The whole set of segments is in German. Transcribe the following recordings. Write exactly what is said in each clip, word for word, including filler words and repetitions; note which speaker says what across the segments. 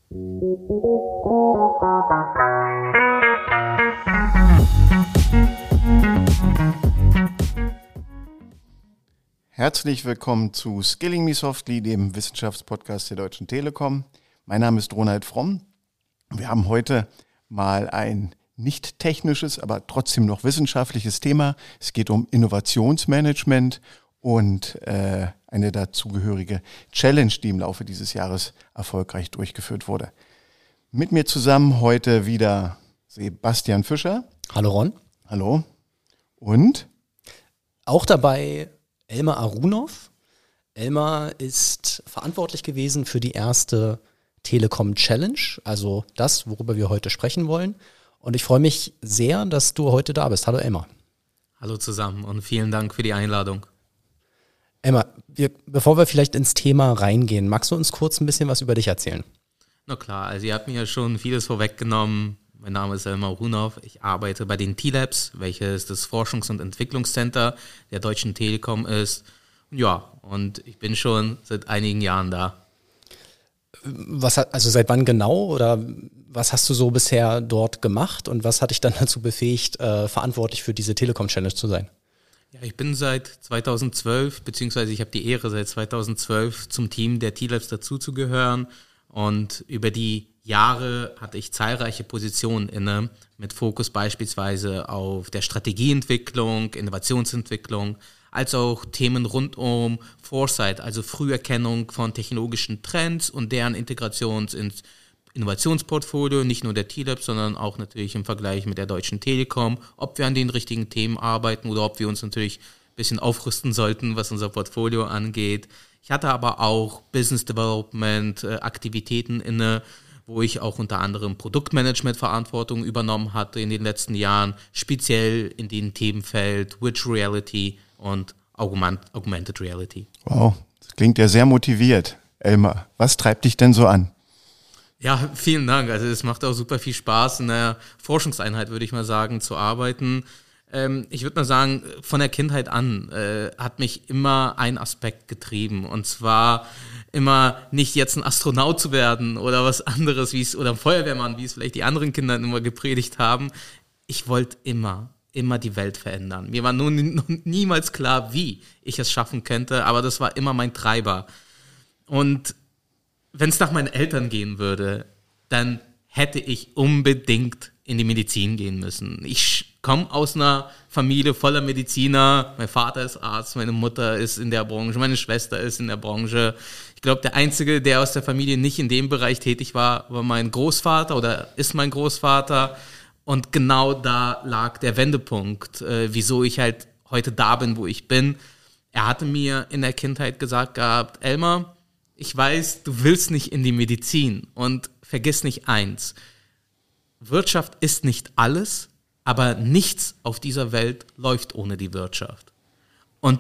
Speaker 1: Herzlich willkommen zu Skilling Me Softly, dem Wissenschaftspodcast der Deutschen Telekom. Mein Name ist Ronald Fromm. Wir haben heute mal ein nicht technisches, aber trotzdem noch wissenschaftliches Thema. Es geht um Innovationsmanagement und äh, eine dazugehörige Challenge, die im Laufe dieses Jahres erfolgreich durchgeführt wurde. Mit mir zusammen heute wieder Sebastian Fischer.
Speaker 2: Hallo Ron.
Speaker 1: Hallo. Und?
Speaker 2: Auch dabei Elmar Arunov. Elmar ist verantwortlich gewesen für die erste Telekom Challenge, also das, worüber wir heute sprechen wollen. Und ich freue mich sehr, dass du heute da bist. Hallo Elmar.
Speaker 3: Hallo zusammen und vielen Dank für die Einladung.
Speaker 2: Elmar, wir, bevor wir vielleicht ins Thema reingehen, magst du uns kurz ein bisschen was über dich erzählen?
Speaker 3: Na klar, also ihr habt mir ja schon vieles vorweggenommen. Mein Name ist Elmar Arunov. Ich arbeite bei den T-Labs, welches das Forschungs- und Entwicklungscenter der Deutschen Telekom ist. Ja, und ich bin schon seit einigen Jahren da.
Speaker 2: Was, also seit wann genau oder was hast du so bisher dort gemacht und was hat dich dann dazu befähigt, äh, verantwortlich für diese Telekom-Challenge zu sein?
Speaker 3: Ja, ich bin seit zweitausendzwölf, beziehungsweise ich habe die Ehre, seit zweitausendzwölf zum Team der T-Labs dazuzugehören und über die Jahre hatte ich zahlreiche Positionen inne, mit Fokus beispielsweise auf der Strategieentwicklung, Innovationsentwicklung, als auch Themen rund um Foresight, also Früherkennung von technologischen Trends und deren Integration ins Innovationsportfolio, nicht nur der T-Labs, sondern auch natürlich im Vergleich mit der Deutschen Telekom, ob wir an den richtigen Themen arbeiten oder ob wir uns natürlich ein bisschen aufrüsten sollten, was unser Portfolio angeht. Ich hatte aber auch Business Development Aktivitäten inne, wo ich auch unter anderem Produktmanagement-Verantwortung übernommen hatte in den letzten Jahren, speziell in den Themenfeld Virtual Reality und Augment, Augmented Reality.
Speaker 1: Wow, das klingt ja sehr motiviert. Elmar, was treibt dich denn so an?
Speaker 3: Ja, vielen Dank. Also es macht auch super viel Spaß, in der Forschungseinheit, würde ich mal sagen, zu arbeiten. Ähm, ich würde mal sagen, von der Kindheit an äh, hat mich immer ein Aspekt getrieben, und zwar immer nicht jetzt ein Astronaut zu werden oder was anderes, wie es oder ein Feuerwehrmann, wie es vielleicht die anderen Kinder immer gepredigt haben. Ich wollte immer, immer die Welt verändern. Mir war nun niemals klar, wie ich es schaffen könnte, aber das war immer mein Treiber. Und wenn es nach meinen Eltern gehen würde, dann hätte ich unbedingt in die Medizin gehen müssen. Ich komme aus einer Familie voller Mediziner. Mein Vater ist Arzt, meine Mutter ist in der Branche, meine Schwester ist in der Branche. Ich glaube, der Einzige, der aus der Familie nicht in dem Bereich tätig war, war mein Großvater oder ist mein Großvater. Und genau da lag der Wendepunkt, äh, wieso ich halt heute da bin, wo ich bin. Er hatte mir in der Kindheit gesagt gehabt, Elmar, ich weiß, du willst nicht in die Medizin und vergiss nicht eins. Wirtschaft ist nicht alles, aber nichts auf dieser Welt läuft ohne die Wirtschaft. Und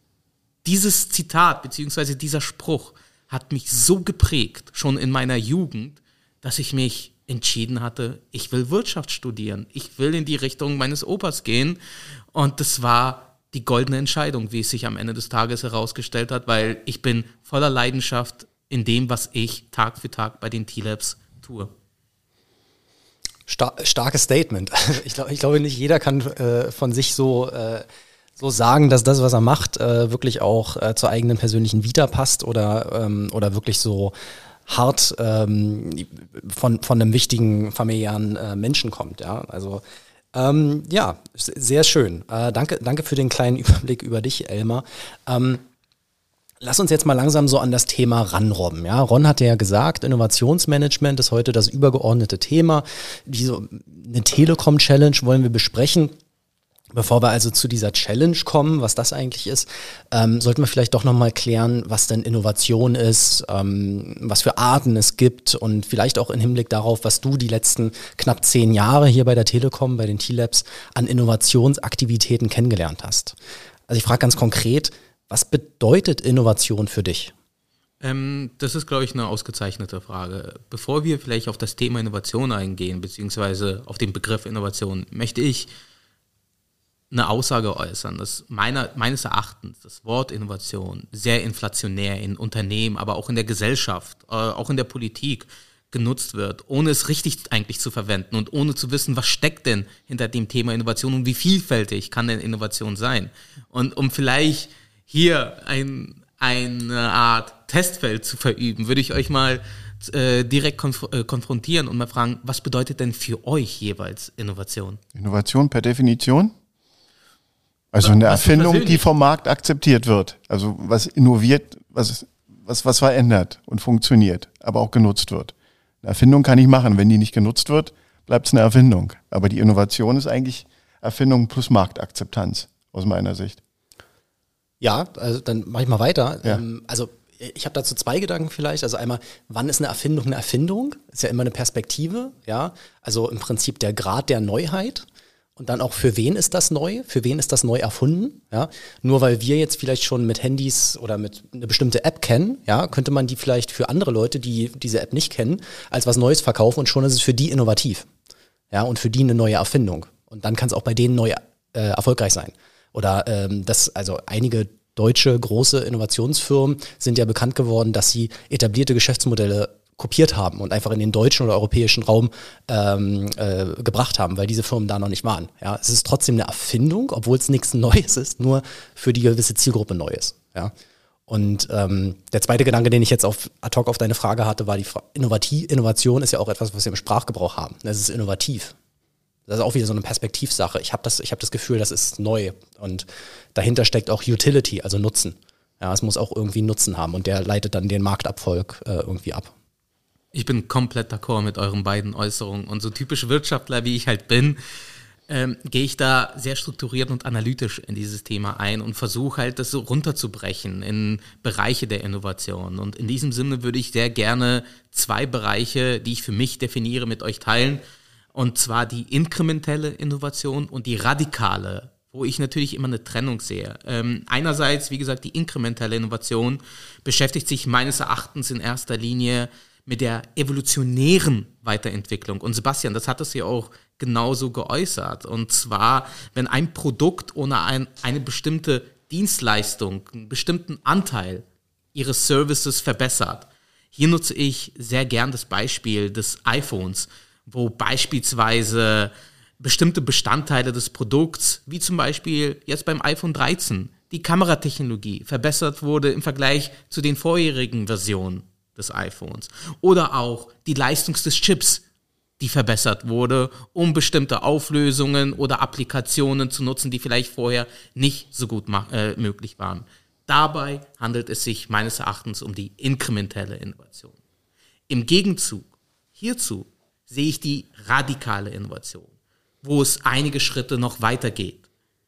Speaker 3: dieses Zitat beziehungsweise dieser Spruch hat mich so geprägt, schon in meiner Jugend, dass ich mich entschieden hatte, ich will Wirtschaft studieren. Ich will in die Richtung meines Opas gehen. Und das war die goldene Entscheidung, wie es sich am Ende des Tages herausgestellt hat, weil ich bin voller Leidenschaft in dem, was ich Tag für Tag bei den T-Labs tue.
Speaker 2: Star- starkes Statement. Ich, glaub, ich glaube, nicht jeder kann äh, von sich so, äh, so sagen, dass das, was er macht, äh, wirklich auch äh, zur eigenen persönlichen Vita passt oder, ähm, oder wirklich so hart ähm, von, von einem wichtigen familiären äh, Menschen kommt. Ja, also ähm, ja, sehr schön. Äh, danke, danke für den kleinen Überblick über dich, Elmar. Ähm, Lass uns jetzt mal langsam so an das Thema ranrobben. Ja, Ron hatte ja gesagt, Innovationsmanagement ist heute das übergeordnete Thema. Diese, eine Telekom-Challenge wollen wir besprechen. Bevor wir also zu dieser Challenge kommen, was das eigentlich ist, ähm, sollten wir vielleicht doch nochmal klären, was denn Innovation ist, ähm, was für Arten es gibt und vielleicht auch im Hinblick darauf, was du die letzten knapp zehn Jahre hier bei der Telekom, bei den T-Labs an Innovationsaktivitäten kennengelernt hast. Also ich frage ganz konkret, was bedeutet Innovation für dich?
Speaker 3: Ähm, das ist, glaube ich, eine ausgezeichnete Frage. Bevor wir vielleicht auf das Thema Innovation eingehen, beziehungsweise auf den Begriff Innovation, möchte ich eine Aussage äußern, dass meiner, meines Erachtens das Wort Innovation sehr inflationär in Unternehmen, aber auch in der Gesellschaft, äh, auch in der Politik genutzt wird, ohne es richtig eigentlich zu verwenden und ohne zu wissen, was steckt denn hinter dem Thema Innovation und wie vielfältig kann denn Innovation sein. Und um vielleicht hier ein, eine Art Testfeld zu verüben, würde ich euch mal äh, direkt konf- äh, konfrontieren und mal fragen, was bedeutet denn für euch jeweils Innovation?
Speaker 1: Innovation per Definition? Also eine
Speaker 3: Was
Speaker 1: Erfindung, die vom Markt akzeptiert wird. Also was innoviert, was, was, was verändert und funktioniert, aber auch genutzt wird. Eine Erfindung kann ich machen. Wenn die nicht genutzt wird, bleibt es eine Erfindung. Aber die Innovation ist eigentlich Erfindung plus Marktakzeptanz, aus meiner Sicht.
Speaker 2: Ja, also dann mache ich mal weiter.
Speaker 1: Ja.
Speaker 2: Ähm, also ich habe dazu zwei Gedanken vielleicht. Also einmal, wann ist eine Erfindung eine Erfindung? Ist ja immer eine Perspektive, ja. Also im Prinzip der Grad der Neuheit. Und dann auch, für wen ist das neu? Für wen ist das neu erfunden? Ja, nur weil wir jetzt vielleicht schon mit Handys oder mit eine bestimmte App kennen, ja, könnte man die vielleicht für andere Leute, die diese App nicht kennen, als was Neues verkaufen und schon ist es für die innovativ. Ja, und für die eine neue Erfindung. Und dann kann es auch bei denen neu äh, erfolgreich sein. Oder ähm, das, also einige deutsche große Innovationsfirmen sind ja bekannt geworden, dass sie etablierte Geschäftsmodelle kopiert haben und einfach in den deutschen oder europäischen Raum ähm, äh, gebracht haben, weil diese Firmen da noch nicht waren. Ja, es ist trotzdem eine Erfindung, obwohl es nichts Neues ist, nur für die gewisse Zielgruppe neu ist. Ja. Und ähm, der zweite Gedanke, den ich jetzt auf ad hoc auf deine Frage hatte, war die Fra- Innovativ- Innovation ist ja auch etwas, was wir im Sprachgebrauch haben. Es ist innovativ. Das ist auch wieder so eine Perspektivsache. Ich habe das, ich habe das Gefühl, das ist neu und dahinter steckt auch Utility, also Nutzen. Ja, es muss auch irgendwie Nutzen haben und der leitet dann den Markterfolg äh, irgendwie ab.
Speaker 3: Ich bin komplett d'accord mit euren beiden Äußerungen. Und so typisch Wirtschaftler, wie ich halt bin, ähm, gehe ich da sehr strukturiert und analytisch in dieses Thema ein und versuche halt, das so runterzubrechen in Bereiche der Innovation. Und in diesem Sinne würde ich sehr gerne zwei Bereiche, die ich für mich definiere, mit euch teilen. Und zwar die inkrementelle Innovation und die radikale, wo ich natürlich immer eine Trennung sehe. Ähm, einerseits, wie gesagt, die inkrementelle Innovation beschäftigt sich meines Erachtens in erster Linie mit der evolutionären Weiterentwicklung. Und Sebastian, das hat es ja auch genauso geäußert. Und zwar, wenn ein Produkt ohne ein, eine bestimmte Dienstleistung, einen bestimmten Anteil ihres Services verbessert. Hier nutze ich sehr gern das Beispiel des iPhones, wo beispielsweise bestimmte Bestandteile des Produkts, wie zum Beispiel jetzt beim iPhone dreizehn, die Kameratechnologie verbessert wurde im Vergleich zu den vorherigen Versionen des iPhones. Oder auch die Leistung des Chips, die verbessert wurde, um bestimmte Auflösungen oder Applikationen zu nutzen, die vielleicht vorher nicht so gut ma- äh, möglich waren. Dabei handelt es sich meines Erachtens um die inkrementelle Innovation. Im Gegenzug hierzu sehe ich die radikale Innovation, wo es einige Schritte noch weitergeht.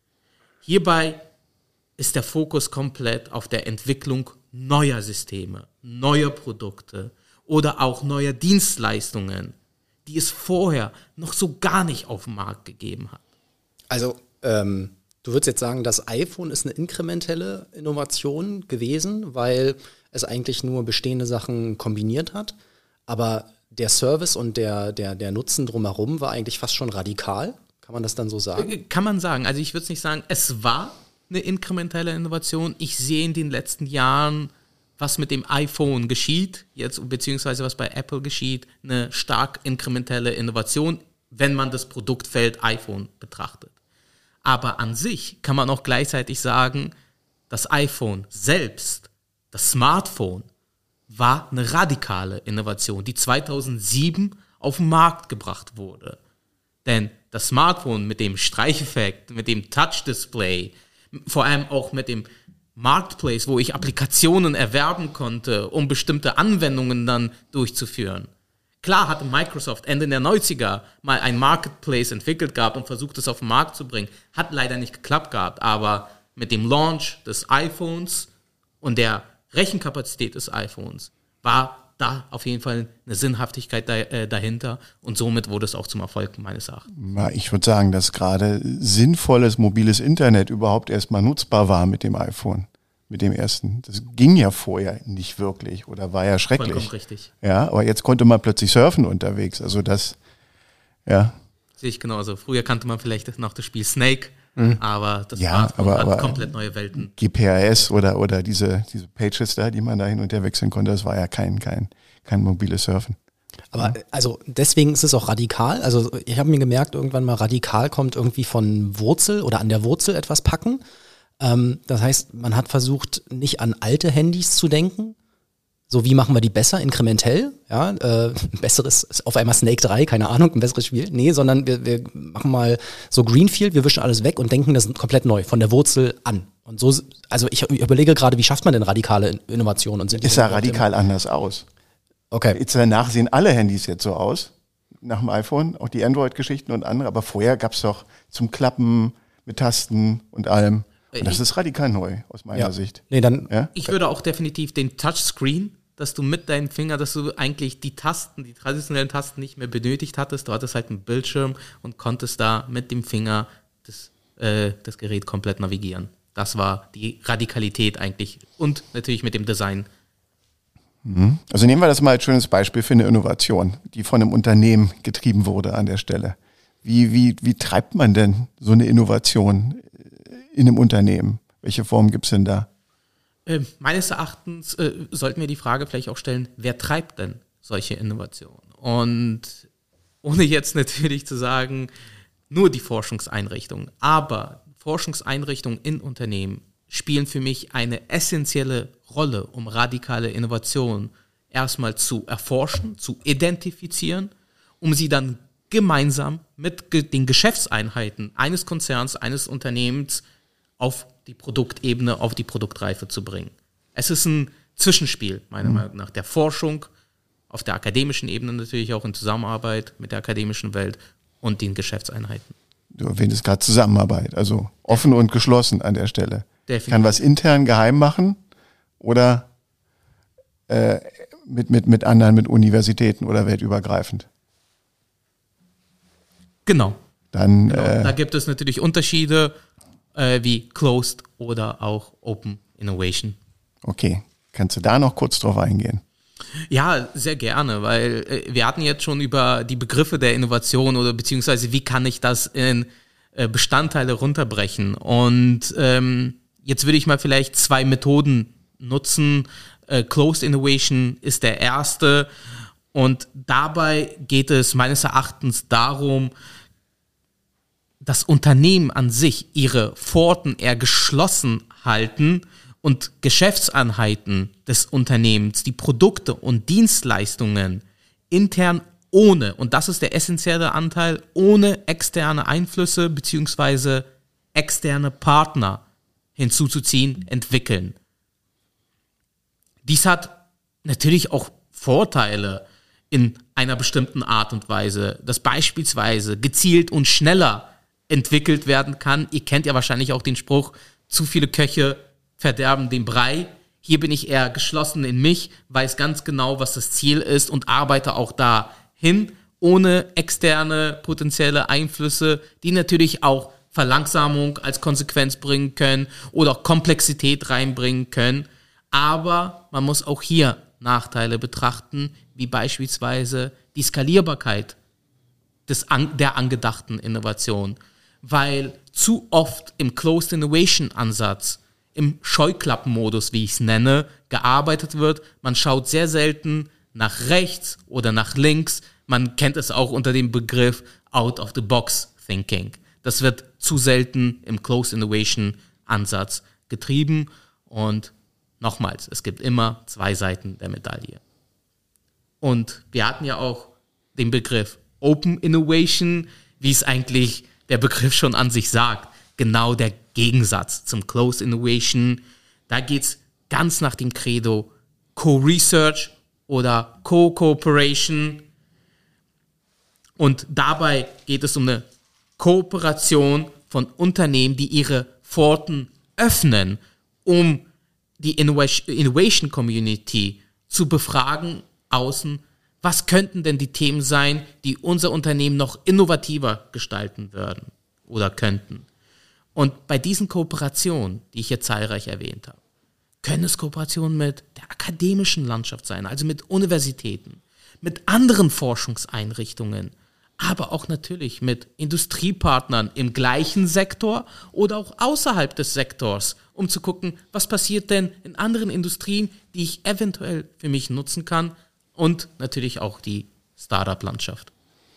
Speaker 3: Hierbei ist der Fokus komplett auf der Entwicklung neuer Systeme, neuer Produkte oder auch neuer Dienstleistungen, die es vorher noch so gar nicht auf dem Markt gegeben hat.
Speaker 2: Also ähm, du würdest jetzt sagen, das iPhone ist eine inkrementelle Innovation gewesen, weil es eigentlich nur bestehende Sachen kombiniert hat, aber der Service und der, der, der Nutzen drumherum war eigentlich fast schon radikal. Kann man das dann so sagen?
Speaker 3: Kann man sagen. Also ich würde es nicht sagen, es war eine inkrementelle Innovation. Ich sehe in den letzten Jahren, was mit dem iPhone geschieht, jetzt beziehungsweise was bei Apple geschieht, eine stark inkrementelle Innovation, wenn man das Produktfeld iPhone betrachtet. Aber an sich kann man auch gleichzeitig sagen, das iPhone selbst, das Smartphone, war eine radikale Innovation, die zweitausendsieben auf den Markt gebracht wurde. Denn das Smartphone mit dem Streicheffekt, mit dem Touch-Display, vor allem auch mit dem Marketplace, wo ich Applikationen erwerben konnte, um bestimmte Anwendungen dann durchzuführen. Klar hatte Microsoft Ende der neunziger mal ein Marketplace entwickelt gehabt und versucht, es auf den Markt zu bringen. Hat leider nicht geklappt gehabt, aber mit dem Launch des iPhones und der Rechenkapazität des iPhones war da auf jeden Fall eine Sinnhaftigkeit da, äh, dahinter und somit wurde es auch zum Erfolg meines Erachtens.
Speaker 1: Ich würde sagen, dass gerade sinnvolles mobiles Internet überhaupt erstmal nutzbar war mit dem iPhone, mit dem ersten. Das ging ja vorher nicht wirklich oder war ja schrecklich.
Speaker 3: Vollkommen richtig.
Speaker 1: Ja, aber jetzt konnte man plötzlich surfen unterwegs. Also das, ja.
Speaker 3: Sehe ich genauso. Früher kannte man vielleicht noch das Spiel Snake, mhm. aber das
Speaker 1: ja,
Speaker 3: Smartphone
Speaker 1: aber,
Speaker 3: hat
Speaker 1: aber
Speaker 3: komplett neue Welten.
Speaker 1: G P R S oder, oder diese, diese Pages da, die man da hin und her wechseln konnte, das war ja kein, kein, kein mobiles Surfen.
Speaker 2: Aber also deswegen ist es auch radikal. Also ich habe mir gemerkt, irgendwann mal radikal kommt irgendwie von Wurzel oder an der Wurzel etwas packen. Ähm, das heißt, man hat versucht, nicht an alte Handys zu denken. So, wie machen wir die besser, inkrementell? Ja, äh, ein besseres, auf einmal Snake drei, keine Ahnung, ein besseres Spiel. Nee, sondern wir, wir machen mal so Greenfield, wir wischen alles weg und denken das komplett neu, von der Wurzel an. Und so, also ich überlege gerade, wie schafft man denn radikale Innovationen? Und sind
Speaker 1: ist ja radikal anders aus.
Speaker 2: Okay.
Speaker 1: Jetzt danach sehen alle Handys jetzt so aus, nach dem iPhone, auch die Android-Geschichten und andere, aber vorher gab es doch zum Klappen mit Tasten und allem. Und das ist radikal neu, aus meiner
Speaker 2: ja.
Speaker 1: Sicht.
Speaker 2: Nee, dann
Speaker 1: ja?
Speaker 3: Ich würde auch definitiv den Touchscreen, dass du mit deinen Fingern, dass du eigentlich die Tasten, die traditionellen Tasten nicht mehr benötigt hattest. Du hattest halt einen Bildschirm und konntest da mit dem Finger das, äh, das Gerät komplett navigieren. Das war die Radikalität eigentlich und natürlich mit dem Design.
Speaker 1: Also nehmen wir das mal als schönes Beispiel für eine Innovation, die von einem Unternehmen getrieben wurde an der Stelle. Wie, wie, wie treibt man denn so eine Innovation in einem Unternehmen? Welche Form gibt es denn da?
Speaker 3: Äh, meines Erachtens äh, sollten wir die Frage vielleicht auch stellen, wer treibt denn solche Innovationen? Und ohne jetzt natürlich zu sagen, nur die Forschungseinrichtungen, aber Forschungseinrichtungen in Unternehmen spielen für mich eine essentielle Rolle, um radikale Innovationen erstmal zu erforschen, zu identifizieren, um sie dann gemeinsam mit ge- den Geschäftseinheiten eines Konzerns, eines Unternehmens auf die Produktebene, auf die Produktreife zu bringen. Es ist ein Zwischenspiel, meiner mhm. Meinung nach, der Forschung, auf der akademischen Ebene natürlich auch in Zusammenarbeit mit der akademischen Welt und den Geschäftseinheiten.
Speaker 1: Du erwähntest gerade Zusammenarbeit, also offen und geschlossen an der Stelle.
Speaker 3: Definitiv.
Speaker 1: Kann was intern geheim machen oder äh, mit, mit, mit anderen, mit Universitäten oder weltübergreifend.
Speaker 3: Genau.
Speaker 1: Dann,
Speaker 3: genau.
Speaker 1: Äh,
Speaker 3: da gibt es natürlich Unterschiede äh, wie Closed oder auch Open Innovation.
Speaker 1: Okay, kannst du da noch kurz drauf eingehen?
Speaker 3: Ja, sehr gerne, weil äh, wir hatten jetzt schon über die Begriffe der Innovation oder beziehungsweise wie kann ich das in äh, Bestandteile runterbrechen. Und ähm, jetzt würde ich mal vielleicht zwei Methoden nutzen. Äh, Closed Innovation ist der erste und dabei geht es meines Erachtens darum, das Unternehmen an sich ihre Pforten eher geschlossen halten und Geschäftseinheiten des Unternehmens, die Produkte und Dienstleistungen intern ohne, und das ist der essentielle Anteil, ohne externe Einflüsse bzw. externe Partner hinzuzuziehen, entwickeln. Dies hat natürlich auch Vorteile in einer bestimmten Art und Weise, dass beispielsweise gezielt und schneller entwickelt werden kann. Ihr kennt ja wahrscheinlich auch den Spruch, zu viele Köche verderben den Brei. Hier bin ich eher geschlossen in mich, weiß ganz genau, was das Ziel ist und arbeite auch dahin, ohne externe potenzielle Einflüsse, die natürlich auch Verlangsamung als Konsequenz bringen können oder auch Komplexität reinbringen können. Aber man muss auch hier Nachteile betrachten, wie beispielsweise die Skalierbarkeit des, der angedachten Innovation. Weil zu oft im Closed Innovation Ansatz, im Scheuklappenmodus, wie ich es nenne, gearbeitet wird. Man schaut sehr selten nach rechts oder nach links. Man kennt es auch unter dem Begriff Out-of-the-Box Thinking. Das wird zu selten im Closed Innovation Ansatz getrieben. Und nochmals, es gibt immer zwei Seiten der Medaille. Und wir hatten ja auch den Begriff Open Innovation, wie es eigentlich der Begriff schon an sich sagt. Genau der Gegensatz zum Closed Innovation. Da geht es ganz nach dem Credo Co-Research oder Co-Cooperation. Und dabei geht es um eine Kooperation von Unternehmen, die ihre Pforten öffnen, um die Innovation Community zu befragen außen, was könnten denn die Themen sein, die unser Unternehmen noch innovativer gestalten würden oder könnten. Und bei diesen Kooperationen, die ich hier zahlreich erwähnt habe, können es Kooperationen mit der akademischen Landschaft sein, also mit Universitäten, mit anderen Forschungseinrichtungen, aber auch natürlich mit Industriepartnern im gleichen Sektor oder auch außerhalb des Sektors, um zu gucken, was passiert denn in anderen Industrien, die ich eventuell für mich nutzen kann und natürlich auch die Startup-Landschaft.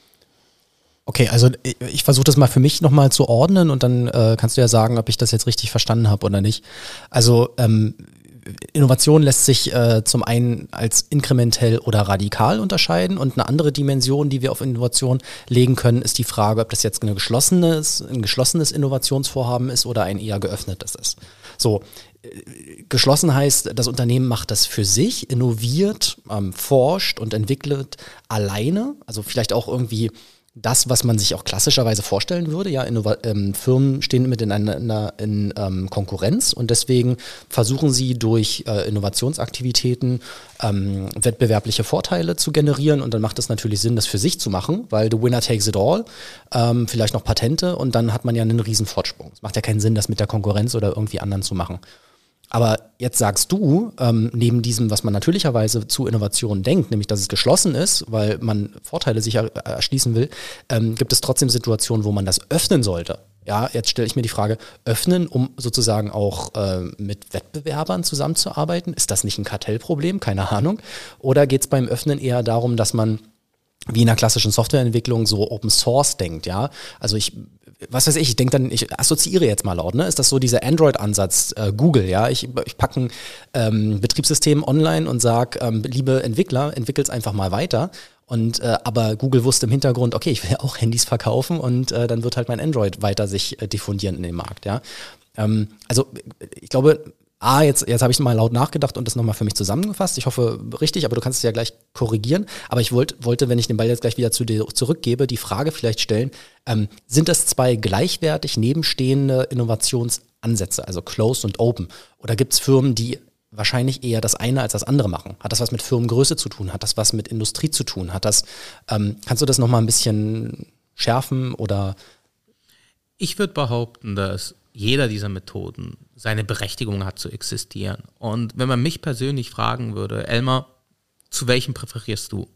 Speaker 2: Okay, also ich, ich versuche das mal für mich nochmal zu ordnen und dann äh, kannst du ja sagen, ob ich das jetzt richtig verstanden habe oder nicht. Also ähm, Innovation lässt sich äh, zum einen als inkrementell oder radikal unterscheiden und eine andere Dimension, die wir auf Innovation legen können, ist die Frage, ob das jetzt eine geschlossenes, ein geschlossenes Innovationsvorhaben ist oder ein eher geöffnetes ist. So, äh, geschlossen heißt, das Unternehmen macht das für sich, innoviert, ähm, forscht und entwickelt alleine, also vielleicht auch irgendwie das, was man sich auch klassischerweise vorstellen würde. Ja, Innova- ähm, Firmen stehen miteinander in ähm, Konkurrenz und deswegen versuchen sie durch äh, Innovationsaktivitäten ähm, wettbewerbliche Vorteile zu generieren und dann macht es natürlich Sinn, das für sich zu machen, weil the winner takes it all, ähm, vielleicht noch Patente und dann hat man ja einen riesen Fortsprung. Es macht ja keinen Sinn, das mit der Konkurrenz oder irgendwie anderen zu machen. Aber jetzt sagst du, ähm, neben diesem, was man natürlicherweise zu Innovation denkt, nämlich dass es geschlossen ist, weil man Vorteile sich er- erschließen will, ähm, gibt es trotzdem Situationen, wo man das öffnen sollte. Ja, jetzt stelle ich mir die Frage, öffnen, um sozusagen auch äh, mit Wettbewerbern zusammenzuarbeiten? Ist das nicht ein Kartellproblem? Keine Ahnung. Oder geht es beim Öffnen eher darum, dass man wie in der klassischen Softwareentwicklung so Open Source denkt, ja? Also ich, was weiß ich, ich denke dann, ich assoziiere jetzt mal laut, ne? Ist das so dieser Android-Ansatz, äh, Google, ja? Ich, ich packe ein ähm, Betriebssystem online und sage, ähm, liebe Entwickler, entwickelt's einfach mal weiter. Und äh, aber Google wusste im Hintergrund, okay, ich will ja auch Handys verkaufen und äh, dann wird halt mein Android weiter sich äh, diffundieren in den Markt, ja? Ähm, also ich glaube, Ah, jetzt, jetzt habe ich mal laut nachgedacht und das nochmal für mich zusammengefasst. Ich hoffe richtig, aber du kannst es ja gleich korrigieren. Aber ich wollt, wollte, wenn ich den Ball jetzt gleich wieder zu dir zurückgebe, die Frage vielleicht stellen, ähm, sind das zwei gleichwertig nebenstehende Innovationsansätze, also Closed und Open? Oder gibt es Firmen, die wahrscheinlich eher das eine als das andere machen? Hat das was mit Firmengröße zu tun? Hat das was mit Industrie zu tun? Hat das, ähm, kannst du das nochmal ein bisschen schärfen oder?
Speaker 3: Ich würde behaupten, dass jeder dieser Methoden seine Berechtigung hat zu existieren. Und wenn man mich persönlich fragen würde, Elmar, zu welchem präferierst du?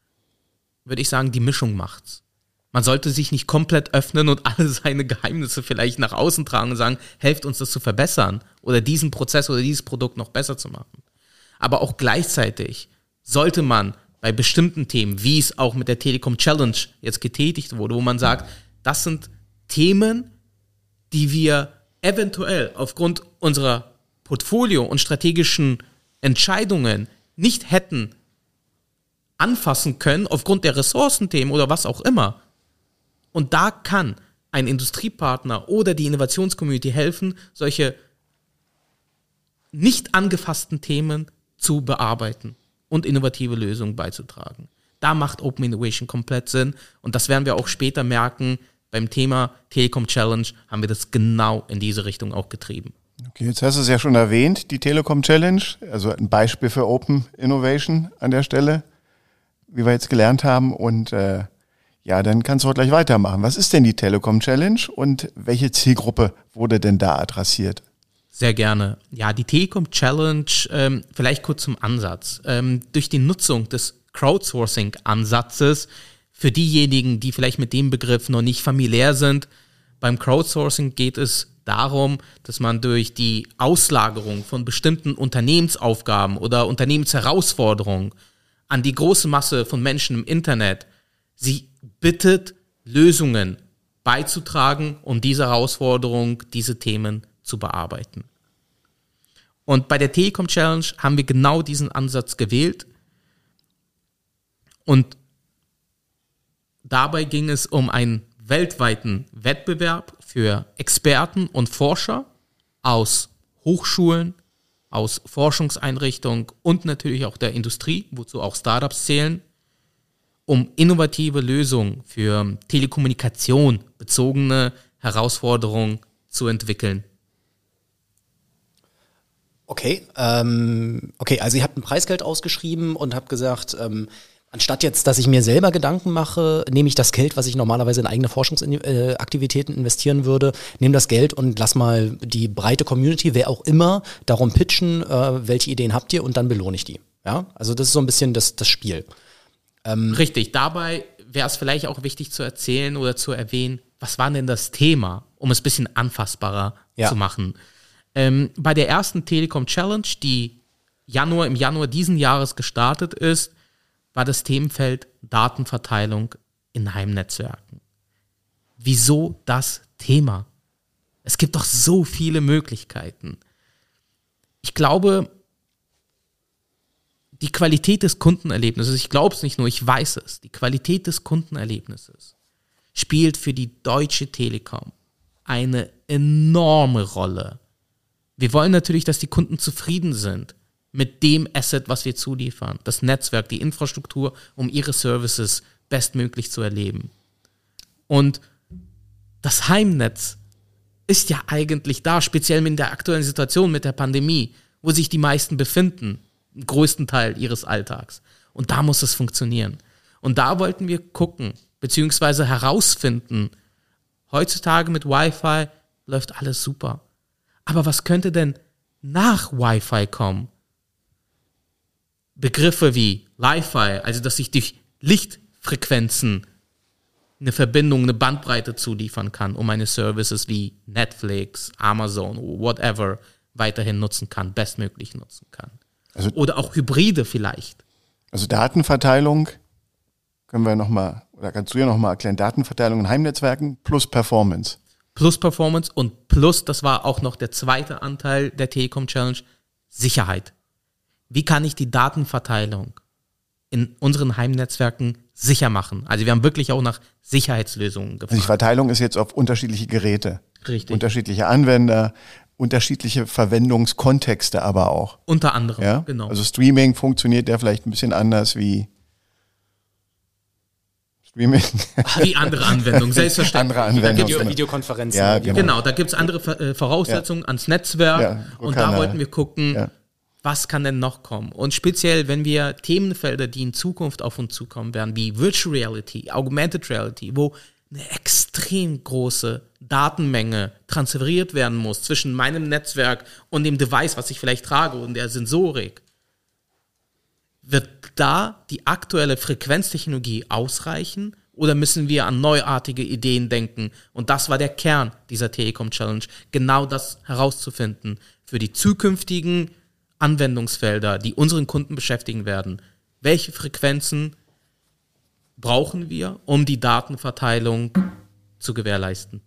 Speaker 3: Würde ich sagen, die Mischung macht's. Man sollte sich nicht komplett öffnen und alle seine Geheimnisse vielleicht nach außen tragen und sagen, helft uns das zu verbessern oder diesen Prozess oder dieses Produkt noch besser zu machen. Aber auch gleichzeitig sollte man bei bestimmten Themen, wie es auch mit der Telekom Challenge jetzt getätigt wurde, wo man sagt, das sind Themen, die wir eventuell aufgrund unserer Portfolio- und strategischen Entscheidungen nicht hätten anfassen können, aufgrund der Ressourcenthemen oder was auch immer. Und da kann ein Industriepartner oder die Innovationscommunity helfen, solche nicht angefassten Themen zu bearbeiten und innovative Lösungen beizutragen. Da macht Open Innovation komplett Sinn und das werden wir auch später merken. Beim Thema Telekom Challenge haben wir das genau in diese Richtung auch getrieben.
Speaker 1: Okay, jetzt hast du es ja schon erwähnt, die Telekom Challenge, also ein Beispiel für Open Innovation an der Stelle, wie wir jetzt gelernt haben. Und äh, ja, dann kannst du auch gleich weitermachen. Was ist denn die Telekom Challenge und welche Zielgruppe wurde denn da adressiert?
Speaker 3: Sehr gerne. Ja, die Telekom Challenge, ähm, vielleicht kurz zum Ansatz. Ähm, durch die Nutzung des Crowdsourcing-Ansatzes, für diejenigen, die vielleicht mit dem Begriff noch nicht familiär sind, beim Crowdsourcing geht es darum, dass man durch die Auslagerung von bestimmten Unternehmensaufgaben oder Unternehmensherausforderungen an die große Masse von Menschen im Internet sie bittet, Lösungen beizutragen, um diese Herausforderung, diese Themen zu bearbeiten. Und bei der Telekom Challenge haben wir genau diesen Ansatz gewählt und dabei ging es um einen weltweiten Wettbewerb für Experten und Forscher aus Hochschulen, aus Forschungseinrichtungen und natürlich auch der Industrie, wozu auch Startups zählen, um innovative Lösungen für Telekommunikation bezogene Herausforderungen zu entwickeln.
Speaker 2: Okay, ähm, okay, also ihr habt ein Preisgeld ausgeschrieben und habt gesagt, ähm, anstatt jetzt, dass ich mir selber Gedanken mache, nehme ich das Geld, was ich normalerweise in eigene Forschungsaktivitäten investieren würde, nehme das Geld und lass mal die breite Community, wer auch immer, darum pitchen, äh, welche Ideen habt ihr und dann belohne ich die. Ja, also das ist so ein bisschen das, das Spiel.
Speaker 3: Ähm, Richtig, dabei wäre es vielleicht auch wichtig zu erzählen oder zu erwähnen, was war denn das Thema, um es ein bisschen anfassbarer ja. zu machen. Ähm, bei der ersten Telekom Challenge, die Januar, im Januar diesen Jahres gestartet ist, war das Themenfeld Datenverteilung in Heimnetzwerken. Wieso das Thema? Es gibt doch so viele Möglichkeiten. Ich glaube, die Qualität des Kundenerlebnisses, ich glaube es nicht nur, ich weiß es, die Qualität des Kundenerlebnisses spielt für die Deutsche Telekom eine enorme Rolle. Wir wollen natürlich, dass die Kunden zufrieden sind mit dem Asset, was wir zuliefern, das Netzwerk, die Infrastruktur, um ihre Services bestmöglich zu erleben. Und das Heimnetz ist ja eigentlich da, speziell in der aktuellen Situation mit der Pandemie, wo sich die meisten befinden, den größten Teil ihres Alltags. Und da muss es funktionieren. Und da wollten wir gucken, beziehungsweise herausfinden, heutzutage mit Wi-Fi läuft alles super. Aber was könnte denn nach Wi-Fi kommen? Begriffe wie Li-Fi, also dass ich durch Lichtfrequenzen eine Verbindung, eine Bandbreite zuliefern kann, um meine Services wie Netflix, Amazon, whatever weiterhin nutzen kann, bestmöglich nutzen kann. Also, oder auch Hybride vielleicht.
Speaker 1: Also Datenverteilung, können wir nochmal, oder kannst du ja nochmal erklären, Datenverteilung in Heimnetzwerken plus Performance.
Speaker 3: Plus Performance und plus, das war auch noch der zweite Anteil der Telekom Challenge, Sicherheit. Wie kann ich die Datenverteilung in unseren Heimnetzwerken sicher machen? Also wir haben wirklich auch nach Sicherheitslösungen gefragt.
Speaker 1: Also die Verteilung ist jetzt auf unterschiedliche Geräte.
Speaker 3: Richtig.
Speaker 1: Unterschiedliche Anwender, unterschiedliche Verwendungskontexte aber auch.
Speaker 3: Unter anderem,
Speaker 1: ja?
Speaker 3: Genau.
Speaker 1: Also Streaming funktioniert ja vielleicht ein bisschen anders wie Streaming.
Speaker 3: Wie andere Anwendungen, selbstverständlich.
Speaker 1: Andere Anwendungen.
Speaker 2: Video, Videokonferenzen.
Speaker 1: Ja, genau.
Speaker 3: Genau, da gibt es andere Voraussetzungen ja. ans Netzwerk
Speaker 1: ja,
Speaker 3: und da wollten wir gucken,
Speaker 1: ja.
Speaker 3: was kann denn noch kommen? Und speziell, wenn wir Themenfelder, die in Zukunft auf uns zukommen werden, wie Virtual Reality, Augmented Reality, wo eine extrem große Datenmenge transferiert werden muss zwischen meinem Netzwerk und dem Device, was ich vielleicht trage und der Sensorik, wird da die aktuelle Frequenztechnologie ausreichen oder müssen wir an neuartige Ideen denken? Und das war der Kern dieser Telekom Challenge, genau das herauszufinden für die zukünftigen Anwendungsfelder, die unseren Kunden beschäftigen werden. Welche Frequenzen brauchen wir, um die Datenverteilung zu gewährleisten?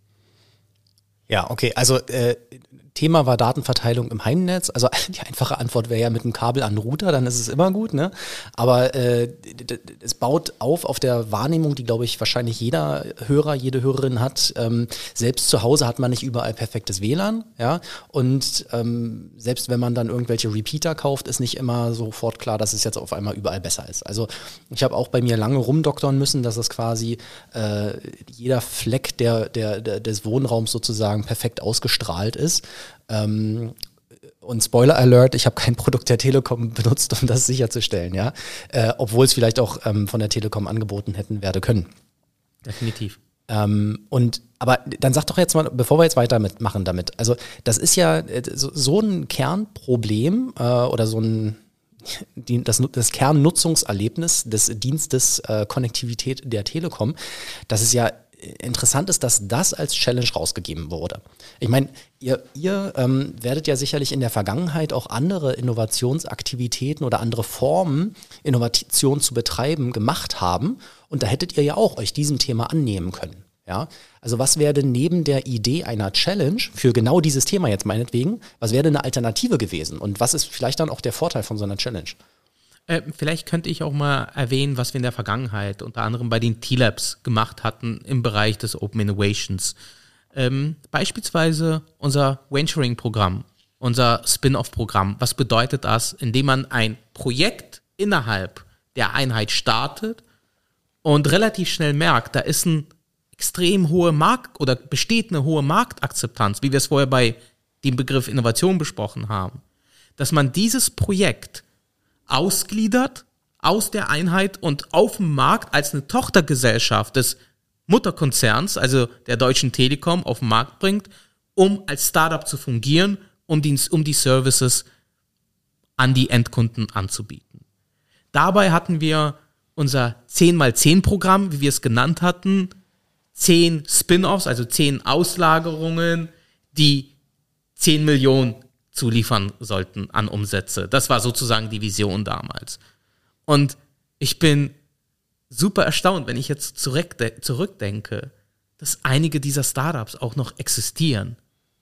Speaker 2: Ja, okay, also äh, Thema war Datenverteilung im Heimnetz. Also die einfache Antwort wäre ja mit einem Kabel an den Router, dann ist es immer gut, ne? Aber äh, es baut auf auf der Wahrnehmung, die, glaube ich, wahrscheinlich jeder Hörer, jede Hörerin hat. Ähm, selbst zu Hause hat man nicht überall perfektes W L A N, ja? Und ähm, selbst wenn man dann irgendwelche Repeater kauft, ist nicht immer sofort klar, dass es jetzt auf einmal überall besser ist. Also ich habe auch bei mir lange rumdoktern müssen, dass es quasi äh, jeder Fleck der, der, der, des Wohnraums sozusagen perfekt ausgestrahlt ist. Ähm, und Spoiler Alert, ich habe kein Produkt der Telekom benutzt, um das sicherzustellen, ja, äh, obwohl es vielleicht auch ähm, von der Telekom angeboten hätten werden können.
Speaker 3: Definitiv.
Speaker 2: Ähm, und aber dann sag doch jetzt mal, bevor wir jetzt weiter mitmachen damit, also das ist ja äh, so, so ein Kernproblem äh, oder so ein die, das, das Kernnutzungserlebnis des Dienstes äh, Konnektivität der Telekom, dass es ja interessant ist, dass das als Challenge rausgegeben wurde. Ich meine, ihr, ihr ähm, werdet ja sicherlich in der Vergangenheit auch andere Innovationsaktivitäten oder andere Formen, Innovation zu betreiben, gemacht haben. Und da hättet ihr ja auch euch diesem Thema annehmen können. Ja? Also was wäre denn neben der Idee einer Challenge für genau dieses Thema jetzt meinetwegen, was wäre denn eine Alternative gewesen? Und was ist vielleicht dann auch der Vorteil von so einer Challenge?
Speaker 3: Äh, vielleicht könnte ich auch mal erwähnen, was wir in der Vergangenheit unter anderem bei den T-Labs gemacht hatten im Bereich des Open Innovations. Ähm, beispielsweise unser Venturing-Programm, unser Spin-off-Programm. Was bedeutet das? Indem man ein Projekt innerhalb der Einheit startet und relativ schnell merkt, da ist ein extrem hohe Markt oder besteht eine hohe Marktakzeptanz, wie wir es vorher bei dem Begriff Innovation besprochen haben, dass man dieses Projekt ausgliedert aus der Einheit und auf dem Markt als eine Tochtergesellschaft des Mutterkonzerns, also der Deutschen Telekom, auf den Markt bringt, um als Startup zu fungieren, um die, um die Services an die Endkunden anzubieten. Dabei hatten wir unser zehn mal zehn Programm, wie wir es genannt hatten, zehn Spin-offs, also zehn Auslagerungen, die zehn Millionen zuliefern sollten an Umsätze. Das war sozusagen die Vision damals. Und Ich bin super erstaunt, wenn ich jetzt zurückde- zurückdenke, dass einige dieser Startups auch noch existieren.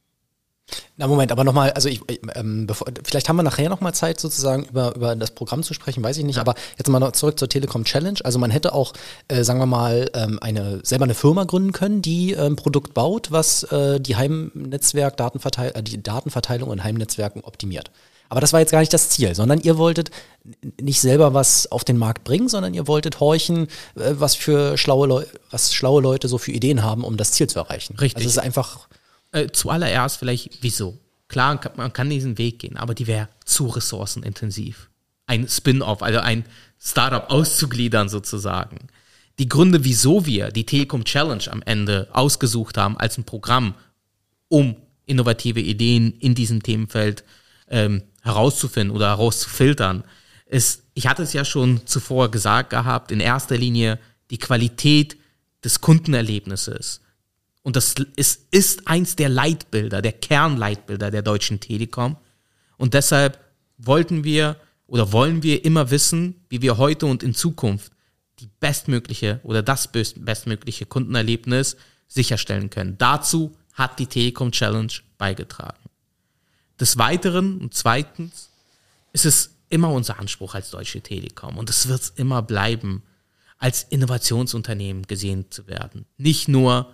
Speaker 2: Na Moment, aber nochmal, also ich, ähm, bevor, vielleicht haben wir nachher nochmal Zeit sozusagen über, über das Programm zu sprechen, weiß ich nicht, ja. Aber jetzt mal noch zurück zur Telekom Challenge. Also man hätte auch, äh, sagen wir mal, ähm, eine selber eine Firma gründen können, die ein ähm, Produkt baut, was äh, die Heimnetzwerk Datenverteil äh, die Datenverteilung in Heimnetzwerken optimiert. Aber das war jetzt gar nicht das Ziel, sondern ihr wolltet nicht selber was auf den Markt bringen, sondern ihr wolltet horchen, äh, was für schlaue Leute, was schlaue Leute so für Ideen haben, um das Ziel zu erreichen.
Speaker 3: Richtig.
Speaker 2: Also es ist einfach
Speaker 3: Äh, zuallererst vielleicht, wieso? Klar, man kann diesen Weg gehen, aber die wäre zu ressourcenintensiv. Ein Spin-off, also ein Startup auszugliedern sozusagen. Die Gründe, wieso wir die Telekom Challenge am Ende ausgesucht haben als ein Programm, um innovative Ideen in diesem Themenfeld ähm, herauszufinden oder herauszufiltern, ist, ich hatte es ja schon zuvor gesagt gehabt, in erster Linie die Qualität des Kundenerlebnisses. Und das ist, ist eins der Leitbilder, der Kernleitbilder der Deutschen Telekom. Und deshalb wollten wir oder wollen wir immer wissen, wie wir heute und in Zukunft die bestmögliche oder das bestmögliche Kundenerlebnis sicherstellen können. Dazu hat die Telekom Challenge beigetragen. Des Weiteren und zweitens ist es immer unser Anspruch als Deutsche Telekom und es wird es immer bleiben, als Innovationsunternehmen gesehen zu werden. Nicht nur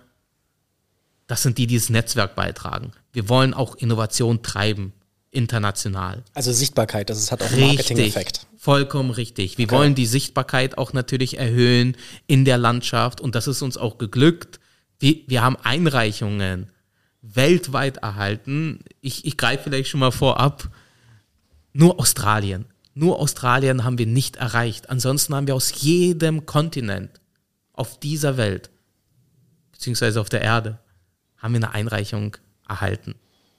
Speaker 3: das sind die, die das Netzwerk beitragen. Wir wollen auch Innovation treiben, international.
Speaker 2: Also Sichtbarkeit, das hat auch einen Marketing-Effekt.
Speaker 3: Richtig, vollkommen richtig. Wir okay. wollen die Sichtbarkeit auch natürlich erhöhen in der Landschaft und das ist uns auch geglückt. Wir, wir haben Einreichungen weltweit erhalten. Ich, ich greife vielleicht schon mal vorab. Nur Australien. Nur Australien haben wir nicht erreicht. Ansonsten haben wir aus jedem Kontinent auf dieser Welt, beziehungsweise auf der Erde, haben wir eine Einreichung erhalten.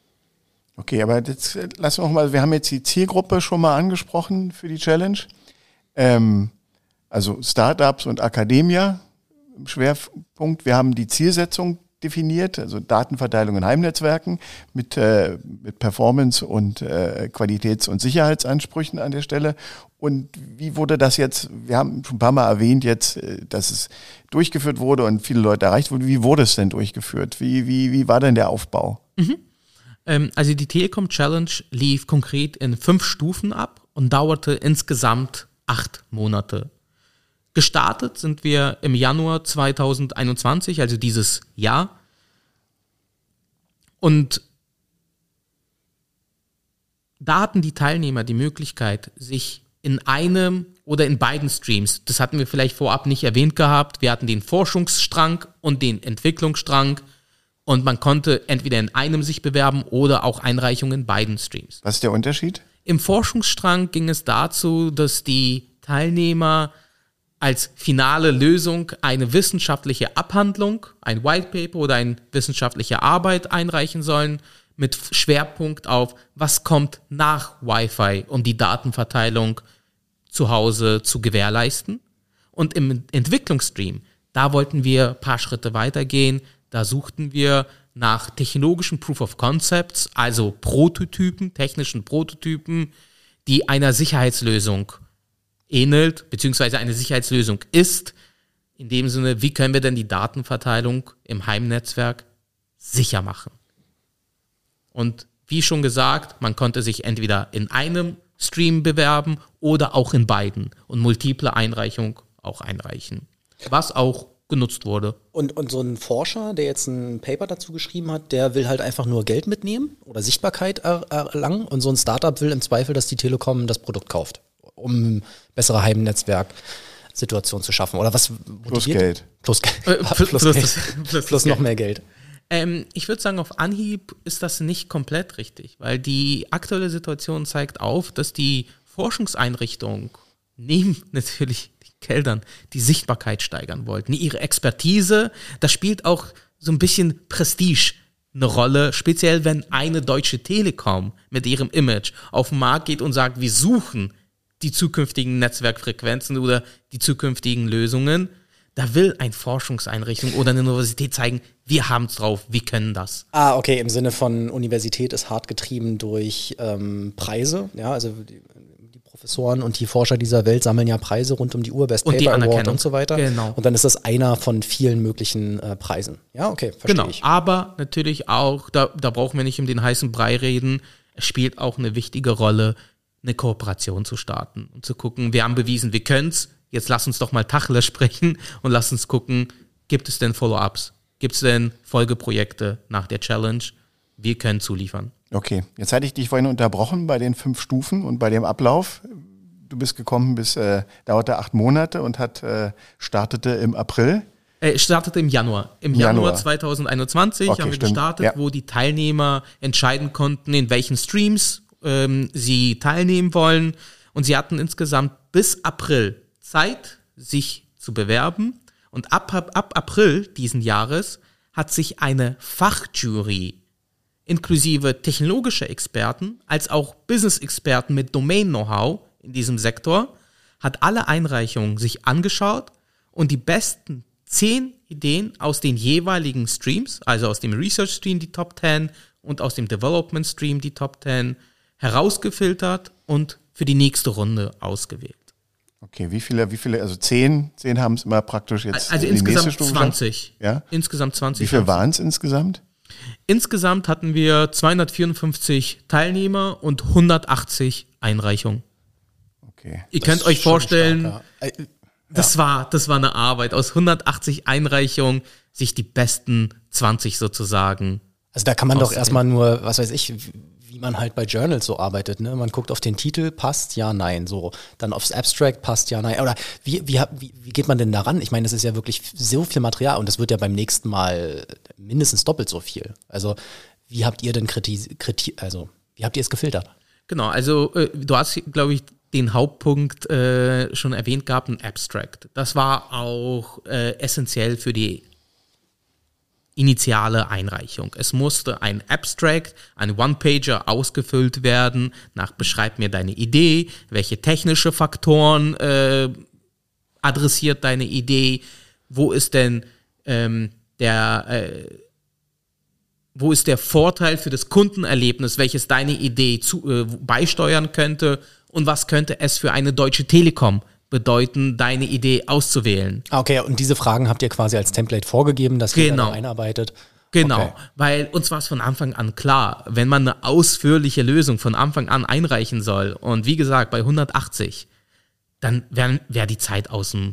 Speaker 1: Okay, aber jetzt lassen wir auch mal, wir haben jetzt die Zielgruppe schon mal angesprochen für die Challenge. Ähm, also Startups und Akademia im Schwerpunkt. Wir haben die Zielsetzung definiert, also Datenverteilung in Heimnetzwerken mit, äh, mit Performance- und äh, Qualitäts- und Sicherheitsansprüchen an der Stelle. Und wie wurde das jetzt, wir haben schon ein paar Mal erwähnt jetzt, dass es durchgeführt wurde und viele Leute erreicht wurden. Wie wurde es denn durchgeführt? Wie, wie, wie war denn der Aufbau?
Speaker 3: Mhm. Ähm, also die Telekom Challenge lief konkret in fünf Stufen ab und dauerte insgesamt acht Monate. Gestartet sind wir im Januar zweitausendeinundzwanzig, also dieses Jahr. Und da hatten die Teilnehmer die Möglichkeit, sich in einem oder in beiden Streams, das hatten wir vielleicht vorab nicht erwähnt gehabt, wir hatten den Forschungsstrang und den Entwicklungsstrang und man konnte entweder in einem sich bewerben oder auch Einreichungen in beiden Streams.
Speaker 1: Was ist der Unterschied?
Speaker 3: Im Forschungsstrang ging es dazu, dass die Teilnehmer als finale Lösung eine wissenschaftliche Abhandlung, ein White Paper oder eine wissenschaftliche Arbeit einreichen sollen, mit Schwerpunkt auf, was kommt nach Wi-Fi, um die Datenverteilung zu Hause zu gewährleisten. Und im Entwicklungsstream, da wollten wir ein paar Schritte weitergehen. Da suchten wir nach technologischen Proof of Concepts, also Prototypen, technischen Prototypen, die einer Sicherheitslösung ähnelt, beziehungsweise eine Sicherheitslösung ist. In dem Sinne, wie können wir denn die Datenverteilung im Heimnetzwerk sicher machen? Und wie schon gesagt, man konnte sich entweder in einem Stream bewerben oder auch in beiden und multiple Einreichung auch einreichen, was auch genutzt wurde.
Speaker 2: Und, und so ein Forscher, der jetzt ein Paper dazu geschrieben hat, der will halt einfach nur Geld mitnehmen oder Sichtbarkeit er, erlangen und so ein Startup will im Zweifel, dass die Telekom das Produkt kauft, um bessere Heimnetzwerk-Situation zu schaffen. Oder was?
Speaker 1: Plus Geld.
Speaker 2: Plus Geld.
Speaker 3: Äh, plus, plus,
Speaker 2: plus,
Speaker 3: plus,
Speaker 2: Geld.
Speaker 3: plus,
Speaker 2: plus noch mehr Geld.
Speaker 3: Ähm, ich würde sagen, auf Anhieb ist das nicht komplett richtig, weil die aktuelle Situation zeigt auf, dass die Forschungseinrichtungen neben natürlich den Geldern die Sichtbarkeit steigern wollten. Ihre Expertise, das spielt auch so ein bisschen Prestige eine Rolle, speziell wenn eine Deutsche Telekom mit ihrem Image auf den Markt geht und sagt, wir suchen die zukünftigen Netzwerkfrequenzen oder die zukünftigen Lösungen. Da will eine Forschungseinrichtung oder eine Universität zeigen, wir haben es drauf, wir können das.
Speaker 2: Ah, okay, im Sinne von Universität ist hart getrieben durch ähm, Preise, ja, also die, die Professoren und die Forscher dieser Welt sammeln ja Preise rund um die Uhr, Best
Speaker 3: Und die
Speaker 2: Paper Award
Speaker 3: Anerkennung.
Speaker 2: und so weiter.
Speaker 3: Genau.
Speaker 2: Und dann ist das einer von vielen möglichen äh, Preisen. Ja, okay, verstehe
Speaker 3: Genau,
Speaker 2: ich.
Speaker 3: aber natürlich auch, da, da brauchen wir nicht um den heißen Brei reden, es spielt auch eine wichtige Rolle, eine Kooperation zu starten und zu gucken, wir haben bewiesen, wir können's, jetzt lass uns doch mal Tacheles sprechen und lass uns gucken, gibt es denn Follow-ups, gibt es denn Folgeprojekte nach der Challenge, wir können zuliefern.
Speaker 1: Okay, jetzt hatte ich dich vorhin unterbrochen bei den fünf Stufen und bei dem Ablauf. Du bist gekommen bis, äh, dauerte acht Monate und hat äh, startete im April.
Speaker 3: Äh, startete im Januar. Im
Speaker 1: Januar.
Speaker 3: Januar zwanzig einundzwanzig
Speaker 1: Okay,
Speaker 3: haben wir
Speaker 1: stimmt.
Speaker 3: gestartet,
Speaker 1: Ja.
Speaker 3: wo die Teilnehmer entscheiden konnten, in welchen Streams ähm, sie teilnehmen wollen. Und sie hatten insgesamt bis April Zeit, sich zu bewerben. Und ab, ab, ab April diesen Jahres hat sich eine Fachjury inklusive technologischer Experten als auch Business-Experten mit Domain-Know-how in diesem Sektor, hat alle Einreichungen sich angeschaut und die besten zehn Ideen aus den jeweiligen Streams, also aus dem Research-Stream die Top zehn und aus dem Development-Stream die Top zehn, herausgefiltert und für die nächste Runde ausgewählt.
Speaker 1: Okay, wie viele, wie viele, also zehn, zehn haben es immer praktisch jetzt
Speaker 3: Also
Speaker 1: in die nächste
Speaker 3: insgesamt
Speaker 1: Stufe
Speaker 3: zwanzig.
Speaker 1: geschafft? Ja?
Speaker 3: Insgesamt zwanzig.
Speaker 1: Wie viele waren es insgesamt?
Speaker 3: Insgesamt hatten wir zweihundertvierundfünfzig Teilnehmer und hundertachtzig Einreichungen.
Speaker 1: Okay.
Speaker 3: Ihr
Speaker 2: Das
Speaker 3: könnt
Speaker 2: ist
Speaker 3: euch
Speaker 2: schon
Speaker 3: vorstellen,
Speaker 2: stark, ja. Äh,
Speaker 3: das war, das war eine Arbeit. Aus hundertachtzig Einreichungen sich die besten zwanzig sozusagen.
Speaker 2: Also da kann man doch
Speaker 3: Außerdem.
Speaker 2: erstmal nur, was weiß ich, wie man halt bei Journals so arbeitet, ne? Man guckt auf den Titel, passt, ja, nein, so. Dann aufs Abstract, passt, ja, nein. Oder wie, wie, wie, wie geht man denn daran? Ich meine, das ist ja wirklich so viel Material und das wird ja beim nächsten Mal mindestens doppelt so viel. Also wie habt ihr denn kriti, kriti also wie habt ihr es gefiltert?
Speaker 3: Genau, also äh, du hast, glaube ich, den Hauptpunkt äh, schon erwähnt gehabt, ein Abstract. Das war auch äh, essentiell für die initiale Einreichung. Es musste ein Abstract, ein One-Pager ausgefüllt werden, nach beschreib mir deine Idee, welche technische Faktoren äh, adressiert deine Idee, wo ist denn ähm, der äh, wo ist der Vorteil für das Kundenerlebnis, welches deine Idee zu, äh, beisteuern könnte und was könnte es für eine Deutsche Telekom bedeuten, deine Idee auszuwählen.
Speaker 2: Ah, okay, und diese Fragen habt ihr quasi als Template vorgegeben, dass ihr
Speaker 3: Genau.
Speaker 2: da einarbeitet.
Speaker 3: Genau,
Speaker 2: Okay.
Speaker 3: weil uns war es von Anfang an klar, wenn man eine ausführliche Lösung von Anfang an einreichen soll und wie gesagt bei hundertachtzig, dann wäre wär die Zeit aus dem,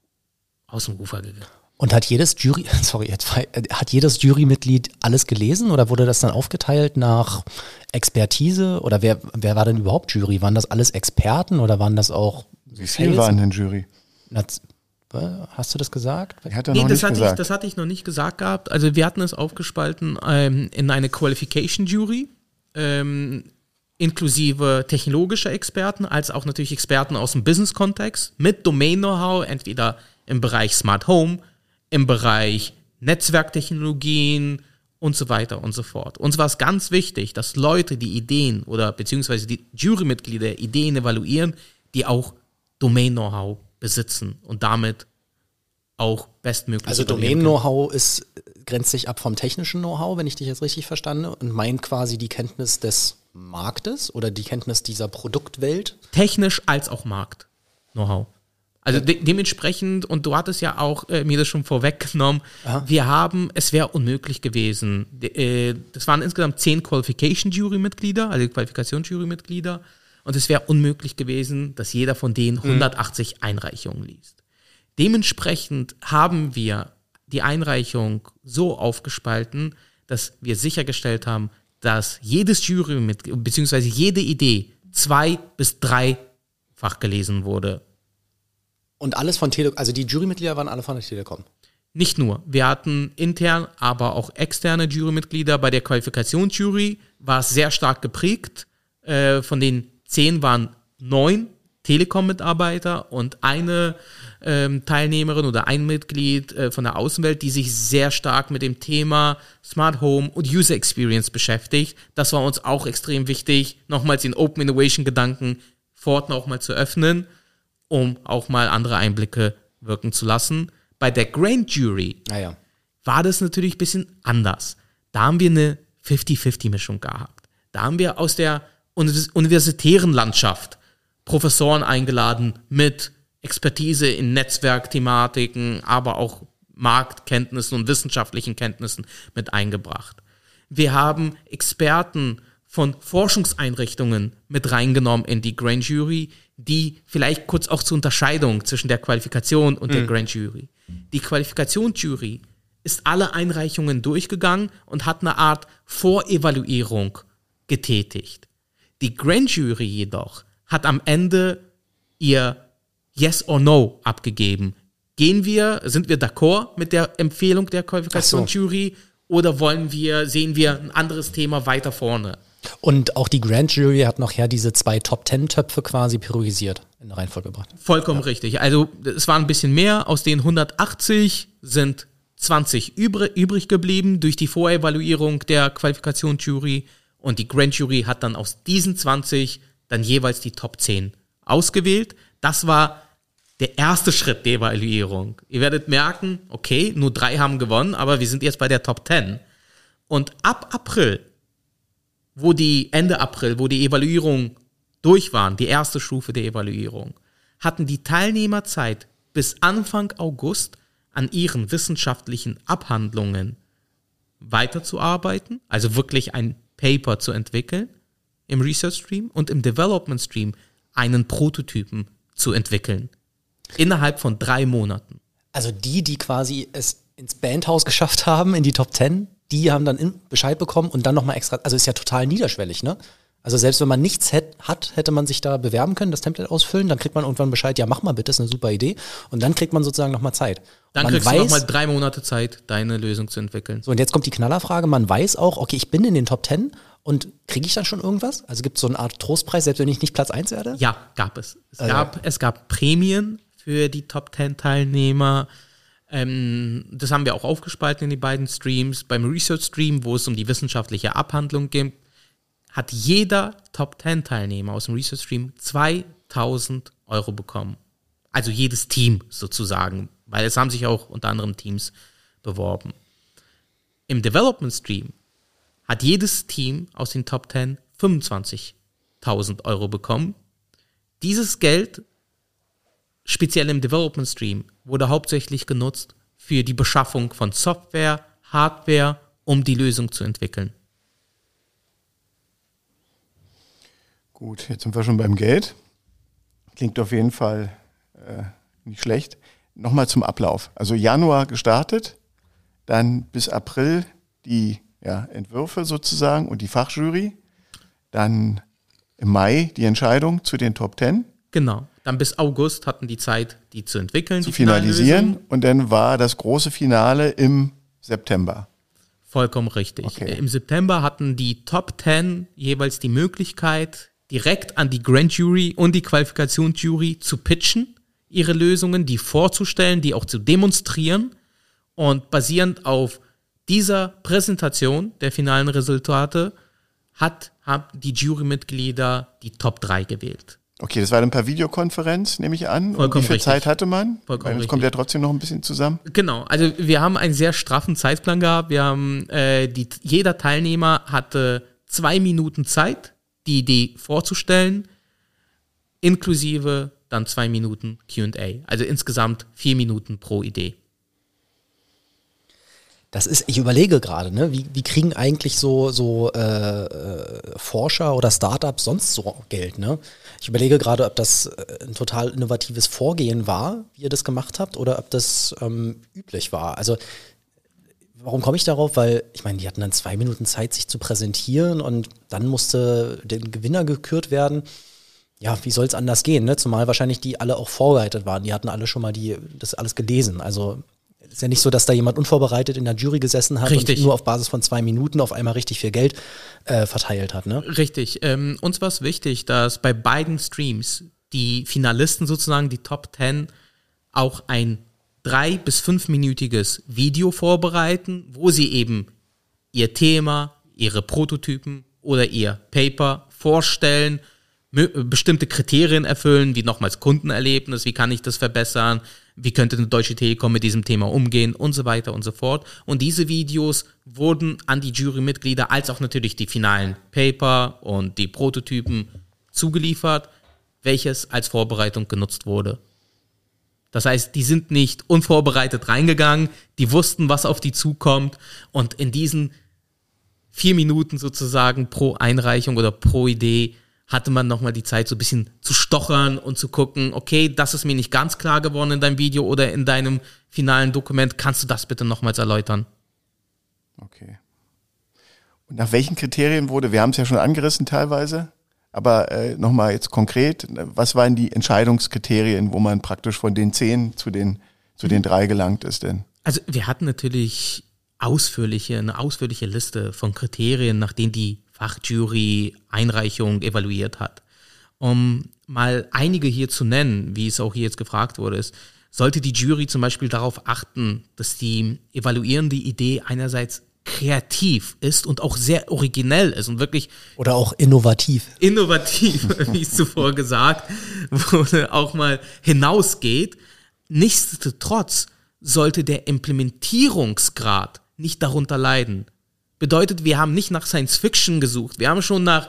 Speaker 3: aus dem Ufer gegangen.
Speaker 2: Und hat jedes Jury, sorry, jetzt, hat jedes Jurymitglied alles gelesen oder wurde das dann aufgeteilt nach Expertise oder wer, wer war denn überhaupt Jury? Waren das alles Experten oder waren das auch
Speaker 1: Wie viel waren denn Jury?
Speaker 2: Naz- Hast du das gesagt?
Speaker 1: Ich hatte
Speaker 3: Nee,
Speaker 1: noch
Speaker 3: das
Speaker 1: nicht
Speaker 3: hatte, ich,
Speaker 1: gesagt.
Speaker 3: das hatte ich noch nicht gesagt gehabt. Also wir hatten es aufgespalten ähm, in eine Qualification Jury, ähm, inklusive technologischer Experten, als auch natürlich Experten aus dem Business-Kontext mit Domain-Know-how, entweder im Bereich Smart Home, im Bereich Netzwerktechnologien und so weiter und so fort. Uns war es ganz wichtig, dass Leute die Ideen oder beziehungsweise die Jurymitglieder Ideen evaluieren, die auch Domain-Know-how besitzen und damit auch bestmöglich
Speaker 2: Also
Speaker 3: evaluieren können.
Speaker 2: Domain-Know-how ist, grenzt sich ab vom technischen Know-how, wenn ich dich jetzt richtig verstanden und meint quasi die Kenntnis des Marktes oder die Kenntnis dieser Produktwelt.
Speaker 3: Technisch als auch Markt Know-how. Also de dementsprechend, und du hattest ja auch äh, mir das schon vorweggenommen,
Speaker 2: Aha.
Speaker 3: wir haben, es wäre unmöglich gewesen, de, äh, das waren insgesamt zehn Qualification-Jury-Mitglieder, also Qualifikationsjury-Mitglieder, und es wäre unmöglich gewesen, dass jeder von denen hundertachtzig Einreichungen liest. Dementsprechend haben wir die Einreichung so aufgespalten, dass wir sichergestellt haben, dass jedes Jurymitglied, beziehungsweise jede Idee zwei- bis dreifach gelesen wurde.
Speaker 2: Und alles von Telekom, also die Jurymitglieder waren alle von der Telekom.
Speaker 3: Nicht nur. Wir hatten intern, aber auch externe Jurymitglieder. Bei der Qualifikationsjury war es sehr stark geprägt. Äh, von den zehn waren neun Telekom-Mitarbeiter und eine ähm, Teilnehmerin oder ein Mitglied äh, von der Außenwelt, die sich sehr stark mit dem Thema Smart Home und User Experience beschäftigt. Das war uns auch extrem wichtig, nochmals den Open Innovation-Gedanken fort nochmal zu öffnen, um auch mal andere Einblicke wirken zu lassen. Bei der Grand Jury
Speaker 2: Naja.
Speaker 3: war das natürlich ein bisschen anders. Da haben wir eine fünfzig fünfzig Mischung gehabt. Da haben wir aus der univers- universitären Landschaft Professoren eingeladen mit Expertise in Netzwerkthematiken, aber auch Marktkenntnissen und wissenschaftlichen Kenntnissen mit eingebracht. Wir haben Experten von Forschungseinrichtungen mit reingenommen in die Grand Jury, die vielleicht kurz auch zur Unterscheidung zwischen der Qualifikation und mhm. der Grand Jury. Die Qualifikationsjury ist alle Einreichungen durchgegangen und hat eine Art Vorevaluierung getätigt. Die Grand Jury jedoch hat am Ende ihr Yes or No abgegeben. Gehen wir, sind wir d'accord mit der Empfehlung der Qualifikationsjury so. Oder wollen wir, sehen wir ein anderes Thema weiter vorne?
Speaker 2: Und auch die Grand Jury hat nachher diese zwei Top-Ten-Töpfe quasi priorisiert in der Reihenfolge gebracht.
Speaker 3: Vollkommen
Speaker 2: ja.
Speaker 3: richtig. Also es war ein bisschen mehr. Aus den hundertachtzig sind zwanzig übrig, übrig geblieben durch die Vorevaluierung der Qualifikationsjury. Und die Grand Jury hat dann aus diesen zwanzig dann jeweils die Top zehn ausgewählt. Das war der erste Schritt der Evaluierung. Ihr werdet merken, okay, nur drei haben gewonnen, aber wir sind jetzt bei der Top zehn. Und ab April, wo die, Ende April, wo die Evaluierung durch waren, die erste Stufe der Evaluierung, hatten die Teilnehmer Zeit, bis Anfang August an ihren wissenschaftlichen Abhandlungen weiterzuarbeiten, also wirklich ein Paper zu entwickeln im Research Stream und im Development Stream einen Prototypen zu entwickeln. Innerhalb von drei Monaten.
Speaker 2: Also die, die quasi es ins Bandhaus geschafft haben, in die Top Ten, die haben dann Bescheid bekommen und dann nochmal extra, also ist ja total niederschwellig, ne? Also selbst wenn man nichts hätt, hat, hätte man sich da bewerben können, das Template ausfüllen, dann kriegt man irgendwann Bescheid, ja mach mal bitte, ist eine super Idee. Und dann kriegt man sozusagen nochmal Zeit.
Speaker 3: Dann
Speaker 2: man
Speaker 3: kriegst
Speaker 2: weiß,
Speaker 3: du nochmal drei Monate Zeit, deine Lösung zu entwickeln.
Speaker 2: So, und jetzt kommt die Knallerfrage, man weiß auch, okay, ich bin in den Top Ten und kriege ich dann schon irgendwas? Also gibt es so eine Art Trostpreis, selbst wenn ich nicht Platz eins werde?
Speaker 3: Ja, gab es. Es,
Speaker 2: also.
Speaker 3: gab, es gab Prämien für die Top Ten Teilnehmer. Ähm, das haben wir auch aufgespalten in die beiden Streams. Beim Research Stream, wo es um die wissenschaftliche Abhandlung ging, hat jeder Top Ten Teilnehmer aus dem Research Stream zweitausend Euro bekommen. Also jedes Team sozusagen, weil es haben sich auch unter anderem Teams beworben. Im Development Stream hat jedes Team aus den Top Ten fünfundzwanzigtausend Euro bekommen. Dieses Geld, speziell im Development Stream, wurde hauptsächlich genutzt für die Beschaffung von Software, Hardware, um die Lösung zu entwickeln.
Speaker 1: Gut, jetzt sind wir schon beim Geld. Klingt auf jeden Fall äh, nicht schlecht. Nochmal zum Ablauf. Also Januar gestartet, dann bis April die ja, Entwürfe sozusagen und die Fachjury. Dann im Mai die Entscheidung zu den Top Ten.
Speaker 3: Genau. Dann bis August hatten die Zeit, die zu entwickeln,
Speaker 1: zu
Speaker 3: die
Speaker 1: finalisieren. Und dann war das große Finale im September.
Speaker 3: Vollkommen richtig.
Speaker 1: Okay.
Speaker 3: Im September hatten die Top Ten jeweils die Möglichkeit, direkt an die Grand Jury und die Qualifikationsjury zu pitchen, ihre Lösungen, die vorzustellen, die auch zu demonstrieren. Und basierend auf dieser Präsentation der finalen Resultate hat, haben die Jurymitglieder die Top drei gewählt.
Speaker 1: Okay, das war dann per Videokonferenz, nehme ich an.
Speaker 3: Vollkommen
Speaker 1: und wie viel
Speaker 3: richtig.
Speaker 1: Zeit hatte man?
Speaker 3: Vollkommen
Speaker 1: Das kommt
Speaker 3: richtig.
Speaker 1: ja trotzdem noch ein bisschen zusammen.
Speaker 3: Genau, also wir haben einen sehr straffen Zeitplan gehabt. Wir haben äh, die, jeder Teilnehmer hatte zwei Minuten Zeit, die Idee vorzustellen, inklusive dann zwei Minuten Q und A. Also insgesamt vier Minuten pro Idee.
Speaker 2: Das ist, ich überlege gerade, ne, wie, wie kriegen eigentlich so, so äh, äh, Forscher oder Startups sonst so Geld, ne? Ich überlege gerade, ob das äh, ein total innovatives Vorgehen war, wie ihr das gemacht habt, oder ob das ähm, üblich war. Also warum komme ich darauf? Weil, ich meine, die hatten dann zwei Minuten Zeit, sich zu präsentieren und dann musste der Gewinner gekürt werden. Ja, wie soll es anders gehen, ne? Zumal wahrscheinlich die alle auch vorbereitet waren. Die hatten alle schon mal die, das alles gelesen. Also ist ja nicht so, dass da jemand unvorbereitet in der Jury gesessen hat
Speaker 3: Richtig.
Speaker 2: und nur auf Basis von zwei Minuten auf einmal richtig viel Geld äh, verteilt hat, ne?
Speaker 3: Richtig. Ähm, uns war es wichtig, dass bei beiden Streams die Finalisten sozusagen, die Top Ten, auch ein drei- bis fünfminütiges Video vorbereiten, wo sie eben ihr Thema, ihre Prototypen oder ihr Paper vorstellen, bestimmte Kriterien erfüllen, wie nochmals Kundenerlebnis, wie kann ich das verbessern, wie könnte eine Deutsche Telekom mit diesem Thema umgehen und so weiter und so fort. Und diese Videos wurden an die Jurymitglieder als auch natürlich die finalen Paper und die Prototypen zugeliefert, welches als Vorbereitung genutzt wurde. Das heißt, die sind nicht unvorbereitet reingegangen, die wussten, was auf die zukommt und in diesen vier Minuten sozusagen pro Einreichung oder pro Idee hatte man nochmal die Zeit, so ein bisschen zu stochern und zu gucken, okay, das ist mir nicht ganz klar geworden in deinem Video oder in deinem finalen Dokument, kannst du das bitte nochmals erläutern?
Speaker 1: Okay. Und nach welchen Kriterien wurde, wir haben es ja schon angerissen teilweise, aber äh, nochmal jetzt konkret, was waren die Entscheidungskriterien, wo man praktisch von den zehn zu den, zu den drei gelangt ist denn?
Speaker 3: Also wir hatten natürlich ausführliche, eine ausführliche Liste von Kriterien, nach denen die Fachjury Einreichung evaluiert hat. Um mal einige hier zu nennen, wie es auch hier jetzt gefragt wurde, ist, sollte die Jury zum Beispiel darauf achten, dass die evaluierende Idee einerseits kreativ ist und auch sehr originell ist und wirklich
Speaker 2: oder auch innovativ.
Speaker 3: Innovativ, wie es zuvor gesagt wurde, auch mal hinausgeht. Nichtsdestotrotz sollte der Implementierungsgrad nicht darunter leiden. Bedeutet, wir haben nicht nach Science Fiction gesucht, wir haben schon nach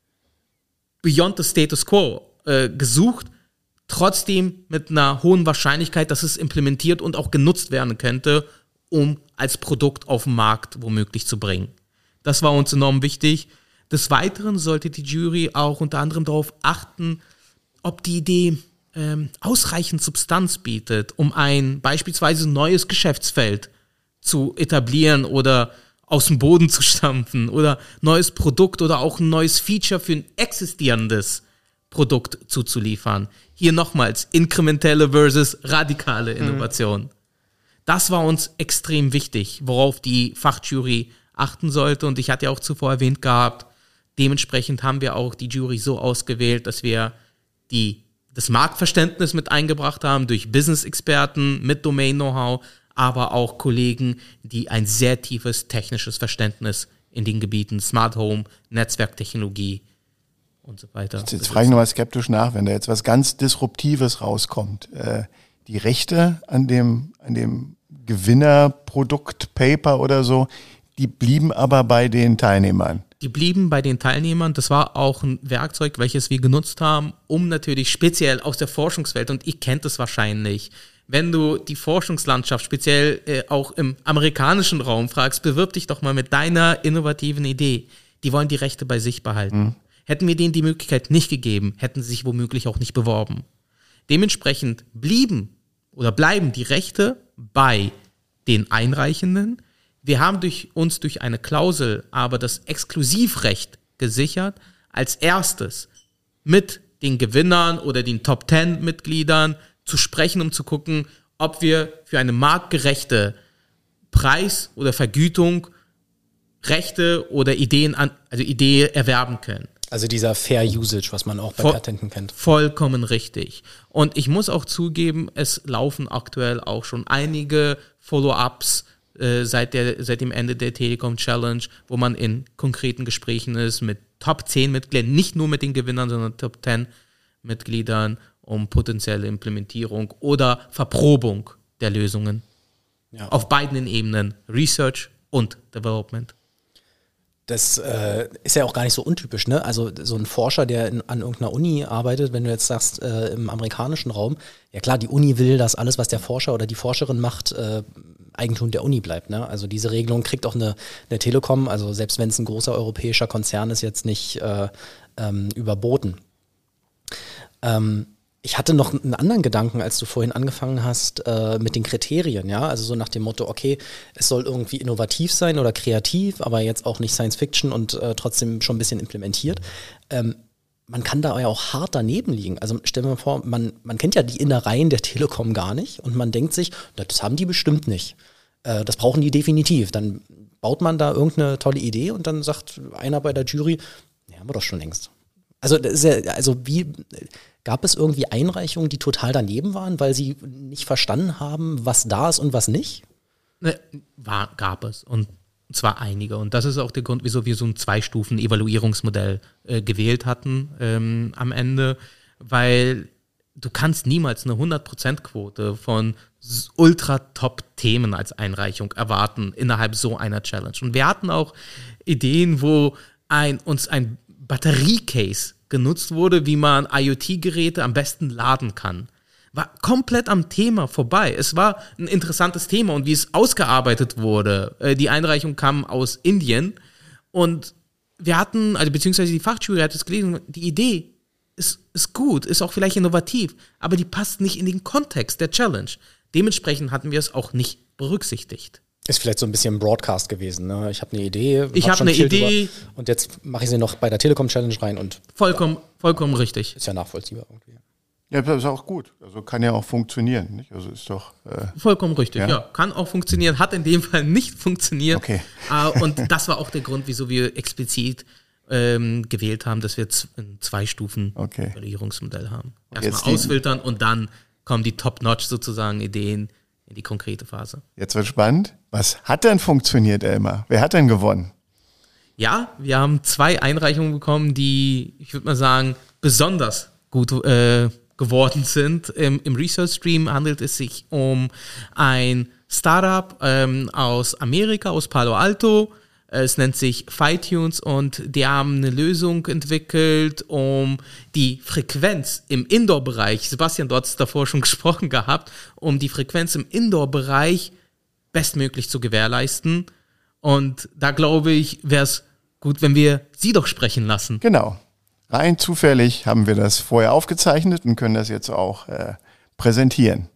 Speaker 3: Beyond the Status Quo äh, gesucht, trotzdem mit einer hohen Wahrscheinlichkeit, dass es implementiert und auch genutzt werden könnte, um als Produkt auf den Markt womöglich zu bringen. Das war uns enorm wichtig. Des Weiteren sollte die Jury auch unter anderem darauf achten, ob die Idee ähm, ausreichend Substanz bietet, um ein beispielsweise neues Geschäftsfeld zu etablieren oder aus dem Boden zu stampfen oder neues Produkt oder auch ein neues Feature für ein existierendes Produkt zuzuliefern. Hier nochmals inkrementelle versus radikale Innovation. Mhm. Das war uns extrem wichtig, worauf die Fachjury achten sollte. Und ich hatte ja auch zuvor erwähnt gehabt, dementsprechend haben wir auch die Jury so ausgewählt, dass wir die, das Marktverständnis mit eingebracht haben durch Business-Experten mit Domain-Know-how, aber auch Kollegen, die ein sehr tiefes technisches Verständnis in den Gebieten Smart Home, Netzwerktechnologie und so weiter.
Speaker 1: Jetzt, jetzt frage ich nochmal skeptisch nach, wenn da jetzt was ganz Disruptives rauskommt. Äh, die Rechte an dem, an dem Gewinnerprodukt, Paper oder so, die blieben aber bei den Teilnehmern.
Speaker 3: Die blieben bei den Teilnehmern. Das war auch ein Werkzeug, welches wir genutzt haben, um natürlich speziell aus der Forschungswelt, und ihr kennt es wahrscheinlich, wenn du die Forschungslandschaft speziell äh, auch im amerikanischen Raum fragst, bewirb dich doch mal mit deiner innovativen Idee. Die wollen die Rechte bei sich behalten. Mhm. Hätten wir denen die Möglichkeit nicht gegeben, hätten sie sich womöglich auch nicht beworben. Dementsprechend blieben oder bleiben die Rechte bei den Einreichenden. Wir haben durch uns durch eine Klausel aber das Exklusivrecht gesichert, als erstes mit den Gewinnern oder den Top Ten Mitgliedern zu sprechen, um zu gucken, ob wir für eine marktgerechte Preis oder Vergütung Rechte oder Ideen an, also Idee erwerben können.
Speaker 2: Also dieser Fair Usage, was man auch bei
Speaker 3: Voll,
Speaker 2: Patenten kennt.
Speaker 3: Vollkommen richtig. Und ich muss auch zugeben, es laufen aktuell auch schon einige Follow-ups äh, seit, der, seit dem Ende der Telekom Challenge, wo man in konkreten Gesprächen ist mit Top zehn Mitgliedern, nicht nur mit den Gewinnern, sondern Top zehn Mitgliedern, um potenzielle Implementierung oder Verprobung der Lösungen. Ja. Auf beiden Ebenen, Research und Development.
Speaker 2: Das äh, ist ja auch gar nicht so untypisch, ne? Also so ein Forscher, der in, an irgendeiner Uni arbeitet, wenn du jetzt sagst, äh, im amerikanischen Raum, ja klar, die Uni will, dass alles, was der Forscher oder die Forscherin macht, äh, Eigentum der Uni bleibt, ne? Also diese Regelung kriegt auch eine, eine Telekom, also selbst wenn es ein großer europäischer Konzern ist, jetzt nicht äh, ähm, überboten. Ähm, Ich hatte noch einen anderen Gedanken, als du vorhin angefangen hast äh, mit den Kriterien, ja, also so nach dem Motto, okay, es soll irgendwie innovativ sein oder kreativ, aber jetzt auch nicht Science Fiction und äh, trotzdem schon ein bisschen implementiert. Ähm, man kann da ja auch hart daneben liegen. Also stell dir mal vor, man, man kennt ja die Innereien der Telekom gar nicht und man denkt sich, das haben die bestimmt nicht. Äh, das brauchen die definitiv. Dann baut man da irgendeine tolle Idee und dann sagt einer bei der Jury, ja, haben wir doch schon längst. Also, das ist ja, also wie gab es irgendwie Einreichungen, die total daneben waren, weil sie nicht verstanden haben, was da ist und was nicht?
Speaker 3: Ne, war, gab es. Und zwar einige. Und das ist auch der Grund, wieso wir so ein Zwei-Stufen-Evaluierungsmodell äh, gewählt hatten ähm, am Ende. Weil du kannst niemals eine hundert Prozent Quote von ultra-top-Themen als Einreichung erwarten innerhalb so einer Challenge. Und wir hatten auch Ideen, wo ein, uns ein Batteriecase genutzt wurde, wie man IoT-Geräte am besten laden kann. War komplett am Thema vorbei. Es war ein interessantes Thema und wie es ausgearbeitet wurde. Äh, die Einreichung kam aus Indien und wir hatten, also beziehungsweise die Fachjury hat es gelesen, die Idee ist, ist gut, ist auch vielleicht innovativ, aber die passt nicht in den Kontext der Challenge. Dementsprechend hatten wir es auch nicht berücksichtigt.
Speaker 2: Ist vielleicht so ein bisschen Broadcast gewesen. Ne? Ich habe eine Idee.
Speaker 3: Ich habe eine Idee.
Speaker 2: Drüber, und jetzt mache ich sie noch bei der Telekom Challenge rein. Und
Speaker 3: vollkommen,
Speaker 2: ja,
Speaker 3: vollkommen richtig.
Speaker 2: Ist ja nachvollziehbar irgendwie.
Speaker 1: Ja, das ist auch gut. Also kann ja auch funktionieren. Nicht? Also ist doch äh,
Speaker 3: vollkommen richtig. Ja? ja, kann auch funktionieren. Hat in dem Fall nicht funktioniert.
Speaker 1: Okay.
Speaker 3: Uh, und das war auch der Grund, wieso wir explizit ähm, gewählt haben, dass wir z- ein zwei Stufen
Speaker 1: okay.
Speaker 3: Evaluierungsmodell haben. Erstmal ausfiltern und dann kommen die Top-Notch sozusagen Ideen in die konkrete Phase.
Speaker 1: Jetzt wird spannend. Was hat denn funktioniert, Elmar? Wer hat denn gewonnen?
Speaker 3: Ja, wir haben zwei Einreichungen bekommen, die, ich würde mal sagen, besonders gut äh, geworden sind. Im, im Research Stream handelt es sich um ein Startup ähm, aus Amerika, aus Palo Alto. Es nennt sich FiTunes und die haben eine Lösung entwickelt, um die Frequenz im Indoor-Bereich, Sebastian, du hast davor schon gesprochen gehabt, um die Frequenz im Indoor-Bereich bestmöglich zu gewährleisten. Und da glaube ich, wäre es gut, wenn wir sie doch sprechen lassen.
Speaker 1: Genau. Rein zufällig haben wir das vorher aufgezeichnet und können das jetzt auch äh, präsentieren.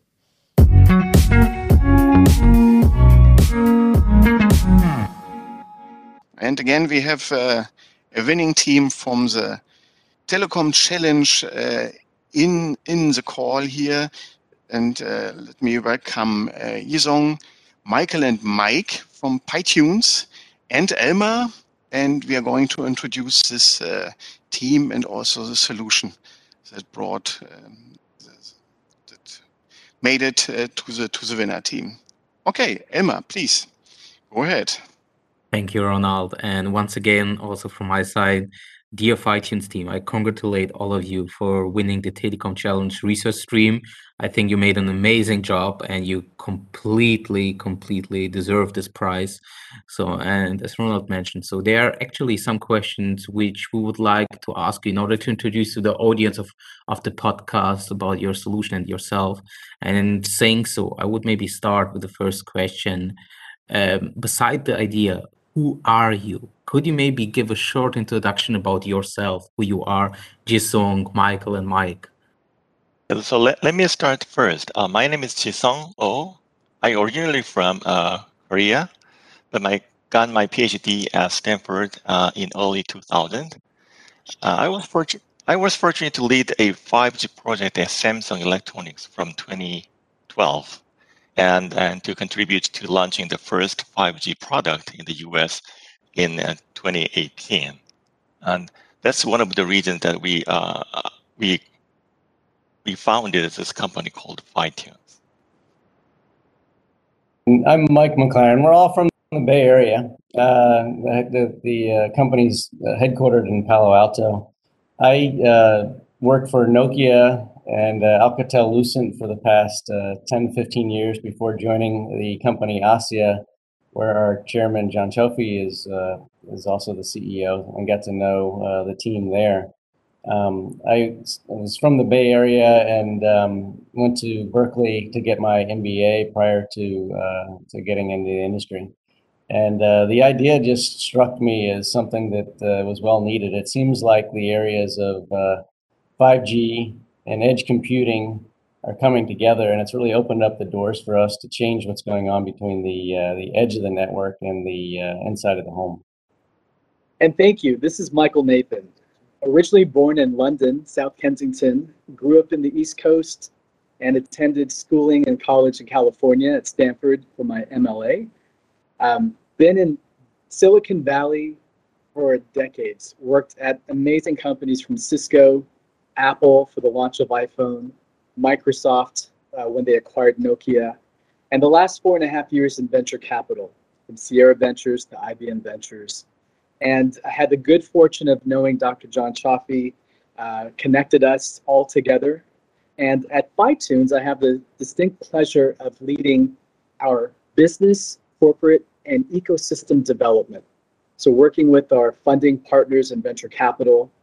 Speaker 1: And again, we have uh, a winning team from the Telecom Challenge uh, in in the call here. And uh, let me welcome uh, Yizong, Michael and Mike from FiTunes and Elmar. And we are going to introduce this uh, team and also the solution that brought, um, that made it uh, to the to the winner team. Okay, Elmar, please go ahead.
Speaker 4: Thank you, Ronald. And once again, also from my side, dear FiTunes team, I congratulate all of you for winning the Telecom Challenge Research Stream. I think you made an amazing job and you completely, completely deserve this prize. So, and as Ronald mentioned, so there are actually some questions which we would like to ask you in order to introduce to the audience of, of the podcast about your solution and yourself. And in saying so, I would maybe start with the first question. Um, beside the idea, who are you? Could you maybe give a short introduction about yourself, who you are, Jisung, Michael, and Mike?
Speaker 5: So let, let me start first. Uh, my name is Jisung Oh. I originally from uh, Korea, but I got my PhD at Stanford uh, in early two thousand. Uh, I was fortunate. I was fortunate to lead a five G project at Samsung Electronics from twenty twelve. And, and to contribute to launching the first five G product in the U S in uh, twenty eighteen. And that's one of the reasons that we uh, we we founded this company called FiTunes.
Speaker 6: I'm Mike McLaren. We're all from the Bay Area. Uh, the the, the uh, company's headquartered in Palo Alto. I uh, worked for Nokia and uh, Alcatel-Lucent for the past uh, ten, fifteen years before joining the company ASIA, where our chairman, John Chofi, is uh, is also the C E O, and got to know uh, the team there. Um, I was from the Bay Area and um, went to Berkeley to get my M B A prior to uh, to getting into the industry. And uh, the idea just struck me as something that uh, was well needed. It seems like the areas of uh, five G and edge computing are coming together, and it's really opened up the doors for us to change what's going on between the uh, the edge of the network and the uh, inside of the home.
Speaker 7: And thank you. This is Michael Nathan. Originally born in London, South Kensington, grew up in the East Coast and attended schooling and college in California at Stanford for my M L A. Um, been in Silicon Valley for decades, worked at amazing companies from Cisco, Apple for the launch of iPhone, Microsoft uh, when they acquired Nokia, and the last four and a half years in venture capital, from Sierra Ventures to I B M Ventures. And I had the good fortune of knowing Doctor John Chofi, uh, connected us all together. And at FiTunes, I have the distinct pleasure of leading our business, corporate, and ecosystem development. So working with our funding partners in venture capital,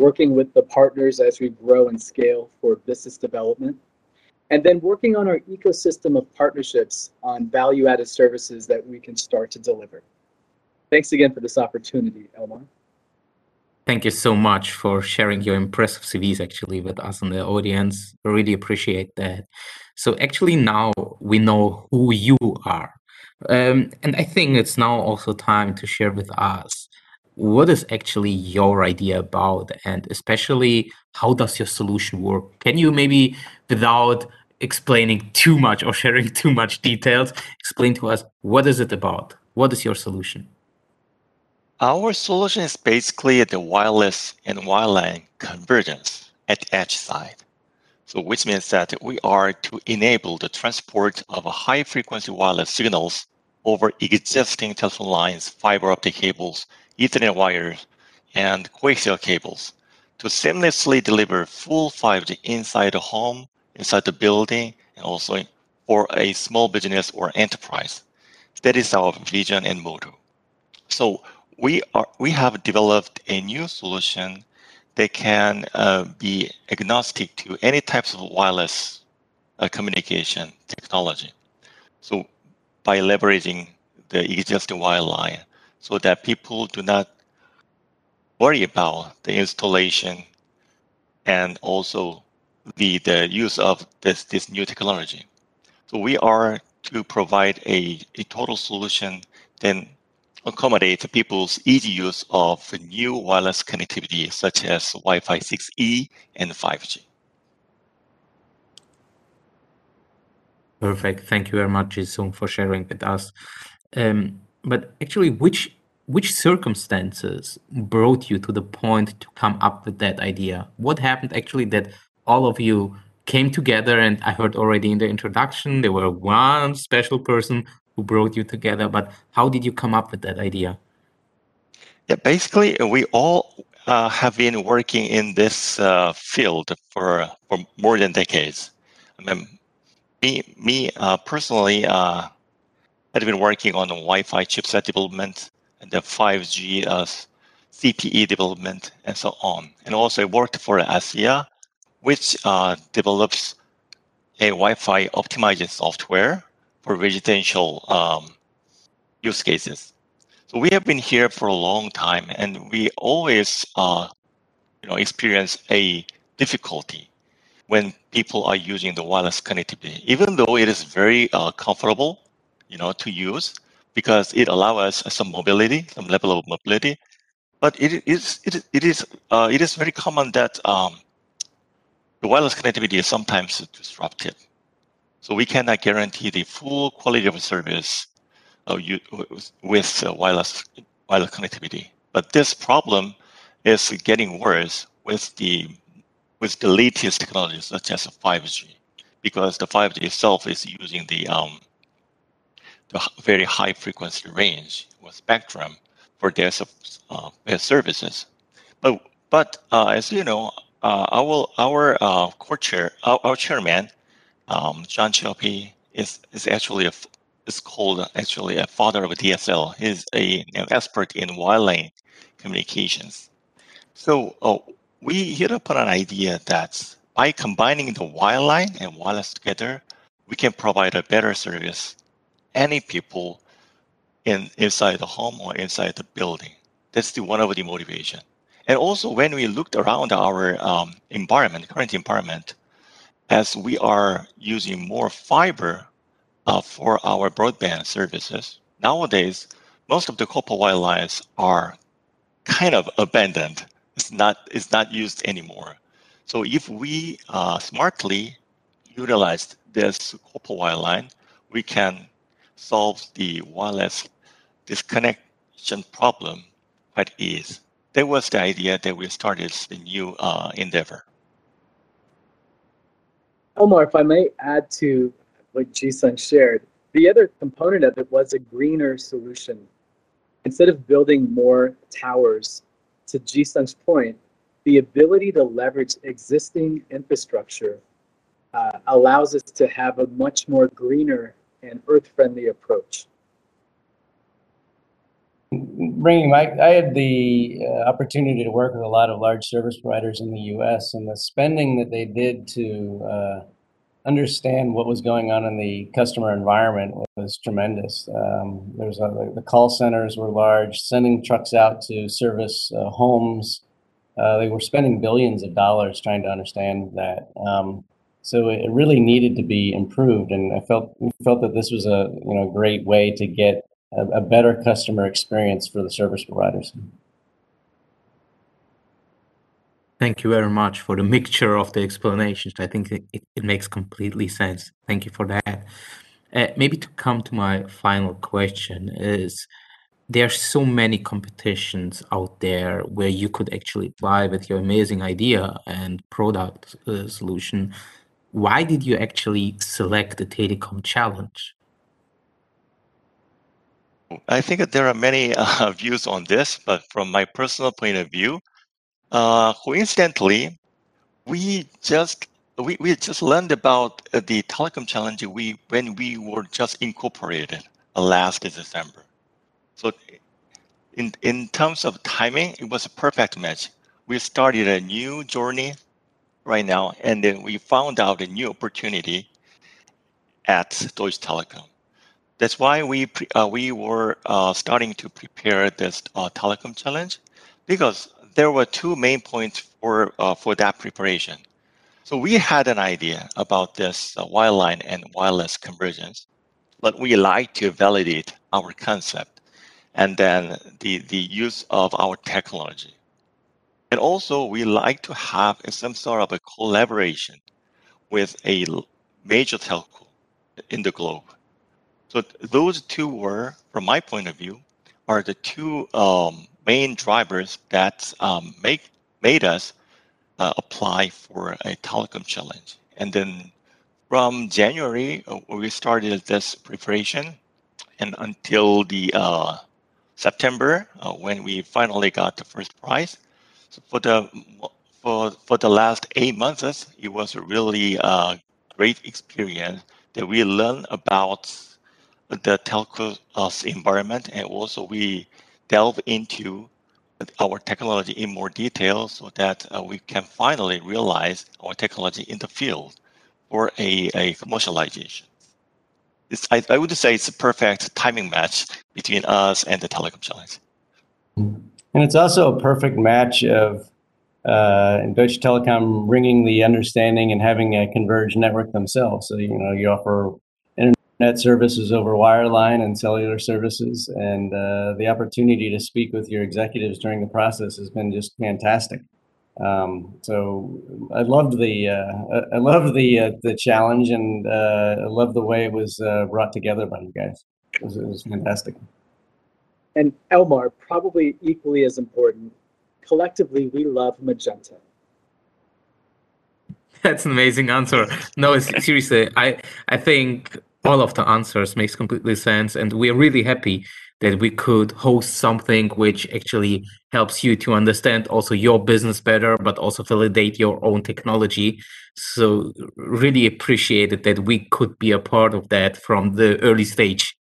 Speaker 7: working with the partners as we grow and scale for business development, and then working on our ecosystem of partnerships on value-added services that we can start to deliver. Thanks again for this opportunity, Elmar.
Speaker 4: Thank you so much for sharing your impressive C Vs actually with us and the audience. I really appreciate that. So actually now we know who you are. Um, and I think it's now also time to share with us what is actually your idea about, and especially how does your solution work? Can you maybe, without explaining too much or sharing too much details, explain to us what is it about? What is your solution?
Speaker 5: Our solution is basically the wireless and wireline convergence at the edge side. So which means that we are to enable the transport of high frequency wireless signals over existing telephone lines, fiber optic cables, Ethernet wires, and coaxial cables to seamlessly deliver full five G inside the home, inside the building, and also for a small business or enterprise. That is our vision and motto. So we are we have developed a new solution that can uh, be agnostic to any types of wireless uh, communication technology. So by leveraging the existing wireline, so that people do not worry about the installation and also the, the use of this, this new technology. So we are to provide a, a total solution then accommodate people's easy use of new wireless connectivity such as Wi-Fi six E and five G.
Speaker 4: Perfect. Thank you very much, Jisung, for sharing with us. Um, but actually, which which circumstances brought you to the point to come up with that idea? What happened actually that all of you came together? And I heard already in the introduction, there were one special person who brought you together, but how did you come up with that idea?
Speaker 5: Yeah, basically, we all uh, have been working in this uh, field for for more than decades. I mean, me, me uh, personally, uh, had been working on the Wi-Fi chipset development and the five G uh, C P E development and so on. And also I worked for ASSIA, which uh, develops a Wi-Fi optimized software for residential um, use cases. So we have been here for a long time, and we always, uh, you know, experience a difficulty when people are using the wireless connectivity, even though it is very uh, comfortable, you know, to use because it allows us some mobility, some level of mobility. But it is it is it is uh, it is very common that um, the wireless connectivity is sometimes disrupted. So we cannot guarantee the full quality of service uh, you, with uh, wireless wireless connectivity. But this problem is getting worse with the with the latest technologies such as five G, because the five G itself is using the um, the very high frequency range or spectrum for their uh, their services. But but uh, as you know, uh, our our uh, co-chair, our, our chairman, um, John Chioppi, is is actually a is called actually a father of D S L. He's a an expert in wireline communications. So uh, we hit upon an idea that by combining the wireline and wireless together, we can provide a better service any people in inside the home or inside the building. That's the one of the motivation. And also when we looked around our um, environment, current environment, as we are using more fiber uh, for our broadband services, nowadays, most of the copper wire lines are kind of abandoned. It's not, it's not used anymore. So if we uh, smartly utilize this copper wire line, we can solve the wireless disconnection problem quite easy. That was the idea that we started the new uh, endeavor.
Speaker 7: Omar, if I may add to what Jisung shared, the other component of it was a greener solution. Instead of building more towers, to Jisung's point, the ability to leverage existing infrastructure uh, allows us to have a much more greener and earth-friendly approach.
Speaker 6: bringing my, I had the uh, opportunity to work with a lot of large service providers in the U S, and the spending that they did to uh, understand what was going on in the customer environment was tremendous. Um, there's a, the call centers were large, sending trucks out to service uh, homes. Uh, they were spending billions of dollars trying to understand that. Um, so it really needed to be improved, and I felt felt that this was a you know great way to get a, a better customer experience for the service providers.
Speaker 4: Thank you very much for the mixture of the explanations. I think it, it, it makes completely sense. Thank you for that. Uh, maybe to come to my final question is, there are so many competitions out there where you could actually apply with your amazing idea and product uh, solution. Why did you actually select the Telecom Challenge?
Speaker 5: I think that there are many uh, views on this, but from my personal point of view, uh, coincidentally, we just we, we just learned about uh, the Telecom Challenge we when we were just incorporated uh, last December. So in in terms of timing, it was a perfect match. We started a new journey right now, and then we found out a new opportunity at Deutsche Telekom. That's why we pre, uh, we were uh, starting to prepare this uh, Telecom Challenge, because there were two main points for uh, for that preparation. So we had an idea about this uh, wireline and wireless convergence, but we like to validate our concept and then the, the use of our technology. And also we like to have some sort of a collaboration with a major telco in the globe. So those two were, from my point of view, are the two um, main drivers that um, make made us uh, apply for a Telecom Challenge. And then from January, uh, we started this preparation, and until the uh, September, uh, when we finally got the first prize. So for the for for the last eight months, it was a really uh, great experience that we learned about the telco uh, environment, and also we delve into our technology in more detail so that uh, we can finally realize our technology in the field for a, a commercialization. It's, I, I would say it's a perfect timing match between us and the Telecom Challenge.
Speaker 6: And it's also a perfect match of uh, Deutsche Telekom bringing the understanding and having a converged network themselves. So, you know, you offer internet services over wireline and cellular services, and uh, the opportunity to speak with your executives during the process has been just fantastic. Um, so I loved the uh, I loved the uh, the challenge, and uh, I loved the way it was uh, brought together by you guys. It was, it was fantastic.
Speaker 7: And Elmar, probably equally as important, collectively we love Magenta.
Speaker 4: That's an amazing answer. No, seriously, I I think all of the answers makes completely sense, and we're really happy that we could host something which actually helps you to understand also your business better, but also validate your own technology. So really appreciate it that we could be a part of that from the early stage.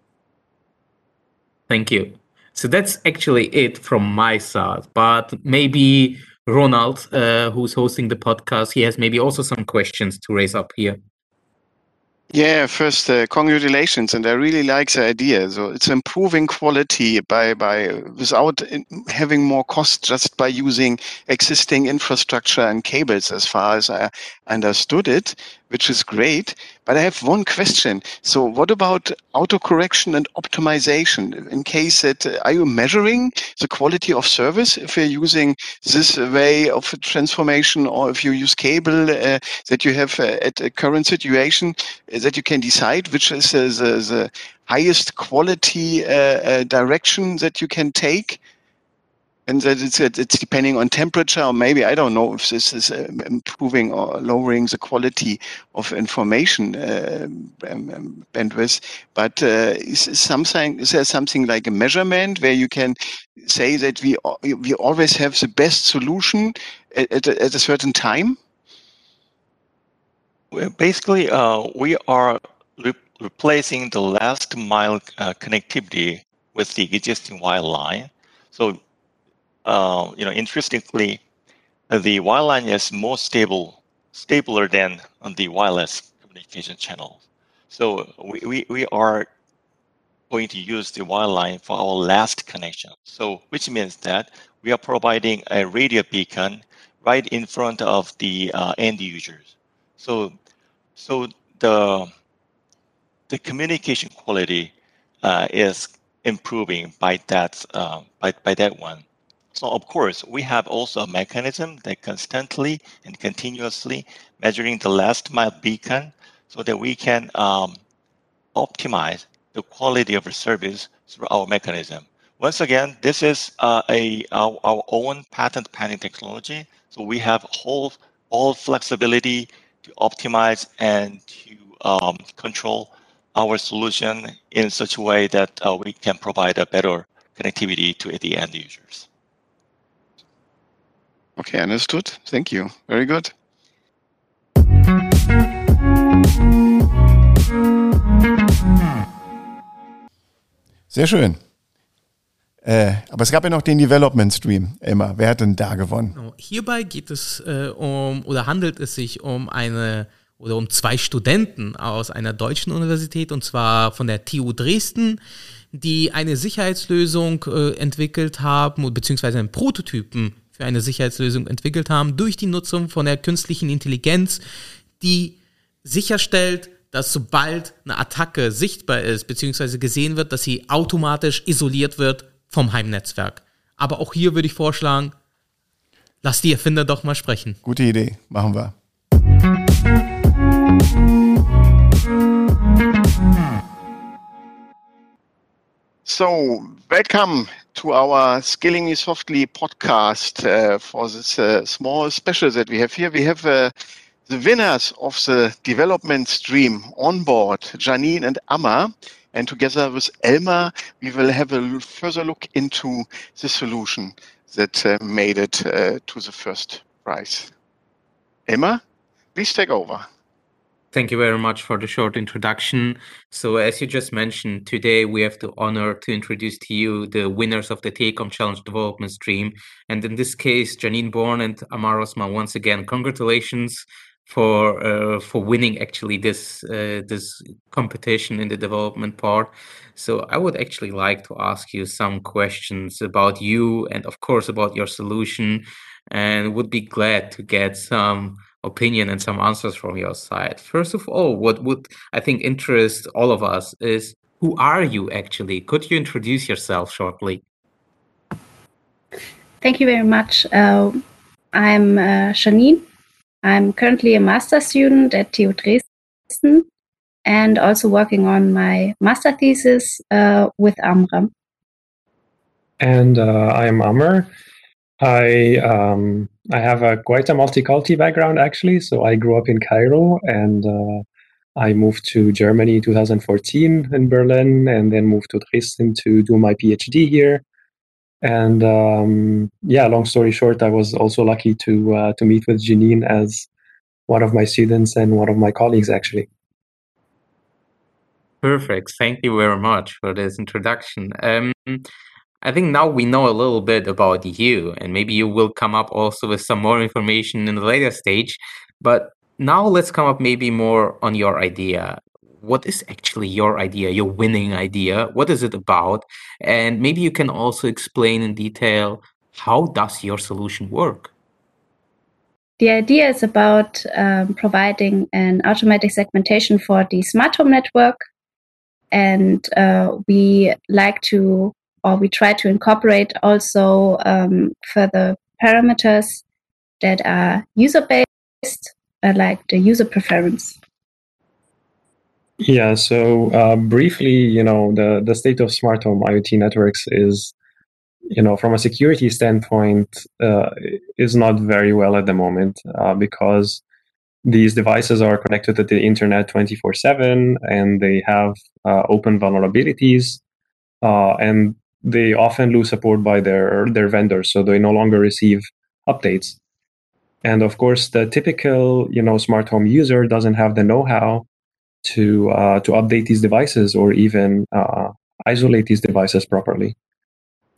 Speaker 4: Thank you. So that's actually it from my side, but maybe Ronald, uh, who's hosting the podcast, he has maybe also some questions to raise up here.
Speaker 1: Yeah, first, uh, congratulations, and I really like the idea. So it's improving quality by by without having more cost, just by using existing infrastructure and cables, as far as I understood it, which is great. But I have one question. So what about autocorrection and optimization? In case that, uh, are you measuring the quality of service if you're using this way of transformation, or if you use cable, uh, that you have uh, at a current situation, uh, that you can decide which is uh, the, the highest quality uh, uh, direction that you can take? And that it's, it's depending on temperature, or maybe, I don't know if this is uh, improving or lowering the quality of information uh, um, bandwidth. But uh, is, is something is there something like a measurement where you can say that we we always have the best solution at, at, a, at a certain time?
Speaker 5: Well, basically, uh, we are re replacing the last mile uh, connectivity with the existing wireline. So, uh, you know, interestingly, the wireline is more stable, stabler than the wireless communication channel. So we, we, we are going to use the wireline for our last connection. So which means that we are providing a radio beacon right in front of the uh, end users. So so the the communication quality uh, is improving by that uh, by, by that one. So of course, we have also a mechanism that constantly and continuously measuring the last mile beacon so that we can um, optimize the quality of the service through our mechanism. Once again, this is uh, a our, our own patent pending technology. So we have whole all flexibility to optimize and to um, control our solution in such a way that uh, we can provide a better connectivity to the end users.
Speaker 1: Okay, understood. Thank you. Very good. Sehr schön. Äh, aber es gab ja noch den Development Stream. Emma, wer hat denn da gewonnen?
Speaker 3: Hierbei geht es äh, um oder handelt es sich um eine oder um zwei Studenten aus einer deutschen Universität, und zwar von der T U Dresden, die eine Sicherheitslösung äh, entwickelt haben, beziehungsweise einen Prototypen für eine Sicherheitslösung entwickelt haben durch die Nutzung von der künstlichen Intelligenz, die sicherstellt, dass sobald eine Attacke sichtbar ist, beziehungsweise gesehen wird, dass sie automatisch isoliert wird vom Heimnetzwerk. Aber auch hier würde ich vorschlagen, lass die Erfinder doch mal sprechen.
Speaker 1: Gute Idee, machen wir. So, welcome to our Scaling Me Softly podcast uh, for this uh, small special that we have here. We have uh, the winners of the development stream on board, Janine and Amma, and together with Elmar, we will have a further look into the solution that uh, made it uh, to the first prize. Elmar, please take over.
Speaker 4: Thank you very much for the short introduction. So as you just mentioned, today we have the honor to introduce to you the winners of the Telecom Challenge Development Stream. And in this case, Janine Born and Amar Osman, once again, congratulations for uh, for winning actually this uh, this competition in the development part. So I would actually like to ask you some questions about you and of course about your solution, and would be glad to get some opinion and some answers from your side. First of all, what would I think interest all of us is, who are you actually? Could you introduce yourself shortly?
Speaker 8: Thank you very much. Uh, I'm uh, Janine. I'm currently a master student at T U Dresden and also working on my master thesis uh, with Amram.
Speaker 9: And uh, I'm Amr. I um, I have a quite a multiculti background actually. So I grew up in Cairo and uh, I moved to Germany in two thousand fourteen in Berlin, and then moved to Dresden to do my PhD here. And um, yeah, long story short, I was also lucky to uh, to meet with Janine as one of my students and one of my colleagues actually.
Speaker 4: Perfect. Thank you very much for this introduction. Um, I think now we know a little bit about you, and maybe you will come up also with some more information in the later stage. But now let's come up maybe more on your idea. What is actually your idea, your winning idea? What is it about? And maybe you can also explain in detail, how does your solution work?
Speaker 8: The idea is about um, providing an automatic segmentation for the smart home network. And uh, we like to or we try to incorporate also um, further parameters that are user-based, uh, like the user preference.
Speaker 9: Yeah, so uh, briefly, you know, the, the state of smart home IoT networks is, you know, from a security standpoint, uh, is not very well at the moment uh, because these devices are connected to the internet twenty-four seven and they have uh, open vulnerabilities uh, and they often lose support by their, their vendors, so they no longer receive updates. And of course, the typical, you know, smart home user doesn't have the know-how to uh, to update these devices or even uh, isolate these devices properly.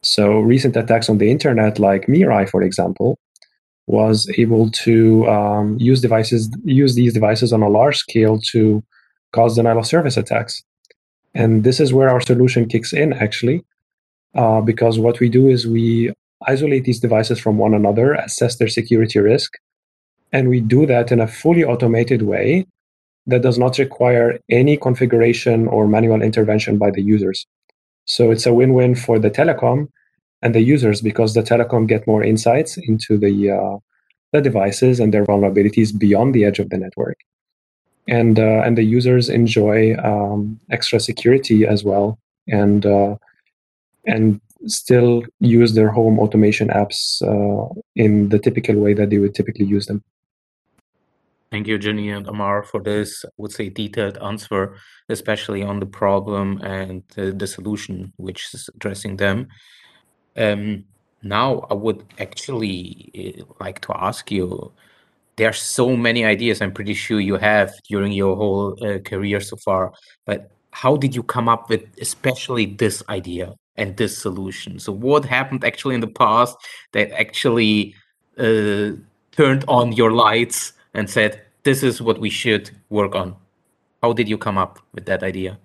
Speaker 9: So recent attacks on the internet, like Mirai, for example, was able to um, use devices, use these devices on a large scale to cause denial of service attacks. And this is where our solution kicks in, actually, uh, because what we do is we isolate these devices from one another, assess their security risk, and we do that in a fully automated way that does not require any configuration or manual intervention by the users. So it's a win-win for the telecom and the users, because the telecom get more insights into the uh, the devices and their vulnerabilities beyond the edge of the network, and uh, and the users enjoy um, extra security as well, and uh, and still use their home automation apps uh, in the typical way that they would typically use them.
Speaker 4: Thank you, Jenny and Amar, for this, I would say, detailed answer, especially on the problem and uh, the solution, which is addressing them. Um, now, I would actually uh, like to ask you, there are so many ideas I'm pretty sure you have during your whole uh, career so far, but how did you come up with especially this idea and this solution? So what happened actually in the past that actually uh, turned on your lights and said, this is what we should work on? How did you come up with that idea?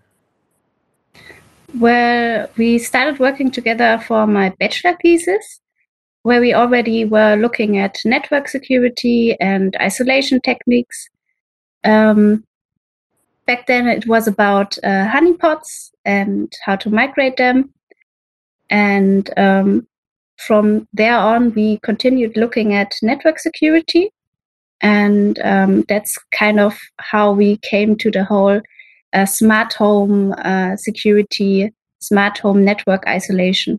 Speaker 8: Well, we started working together for my bachelor thesis, where we already were looking at network security and isolation techniques. Um, back then it was about uh, honeypots and how to migrate them. And um, from there on, we continued looking at network security. And um, that's kind of how we came to the whole uh, smart home uh, security, smart home network isolation.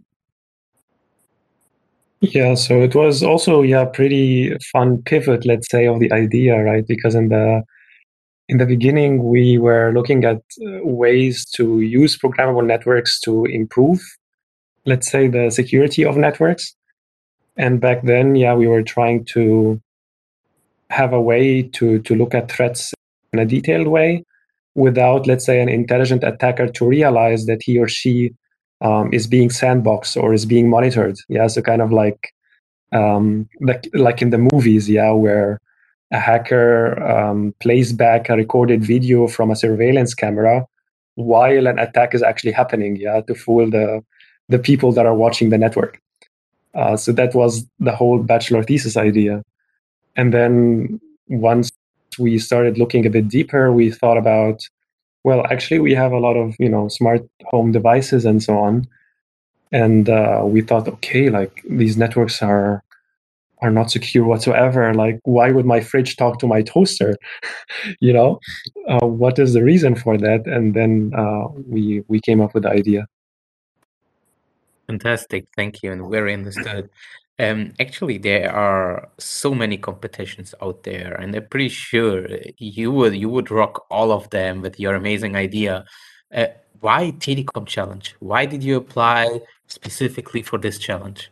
Speaker 9: Yeah, so it was also yeah pretty fun pivot, let's say, of the idea, right? Because in the in the beginning we were looking at uh, ways to use programmable networks to improve, let's say, the security of networks. And back then, yeah, we were trying to have a way to to look at threats in a detailed way without, let's say, an intelligent attacker to realize that he or she um, is being sandboxed or is being monitored. Yeah, so kind of like um, like like in the movies, yeah, where a hacker um, plays back a recorded video from a surveillance camera while an attack is actually happening, yeah, to fool the the people that are watching the network. Uh, so that was the whole bachelor thesis idea. And then once we started looking a bit deeper, we thought about, well, actually, we have a lot of, you know, smart home devices and so on. And uh, we thought, okay, like these networks are are not secure whatsoever. Like, why would my fridge talk to my toaster? you know, uh, what is the reason for that? And then uh, we we came up with the idea.
Speaker 4: Fantastic, thank you, and very understood. Um, actually, there are so many competitions out there, and I'm pretty sure you would you would rock all of them with your amazing idea. Uh, why Telecom Challenge? Why did you apply specifically for this challenge?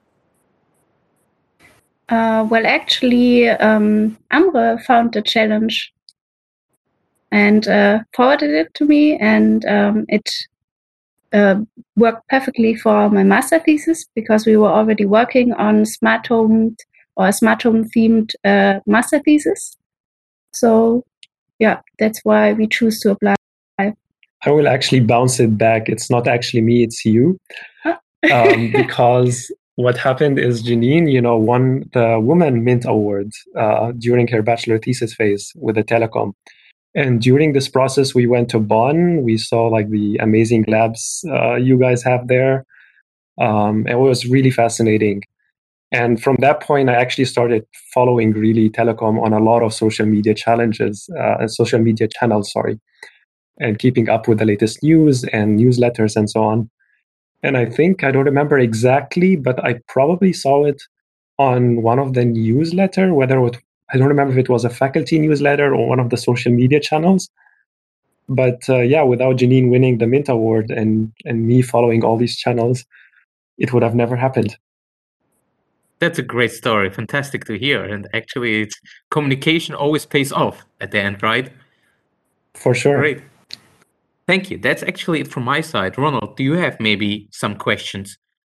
Speaker 8: Uh, well, actually, um, Amre found the challenge and uh, forwarded it to me, and um, it uh, worked perfectly for my master thesis because we were already working on smart home or a smart home themed uh, master thesis. So, yeah, that's why we choose to apply.
Speaker 9: I will actually bounce it back. It's not actually me, it's you. um, because what happened is Janine, you know, won the Women Mint Award uh, during her bachelor thesis phase with the telecom. And during this process, we went to Bonn. We saw like the amazing labs uh, you guys have there. Um, it was really fascinating. And from that point, I actually started following really telecom on a lot of social media challenges, uh, social media channels, sorry, and keeping up with the latest news and newsletters and so on. And I think, I don't remember exactly, but I probably saw it on one of the newsletter, whether it was, I don't remember if it was a faculty newsletter or one of the social media channels. But uh, yeah, without Janine winning the Mint Award and, and me following all these channels, it would have never happened.
Speaker 4: That's a great story. Fantastic to hear. And actually, it's communication always pays off at the end, right?
Speaker 9: For sure.
Speaker 4: Great. Thank you. That's actually it from my side. Ronald, do you have maybe some questions?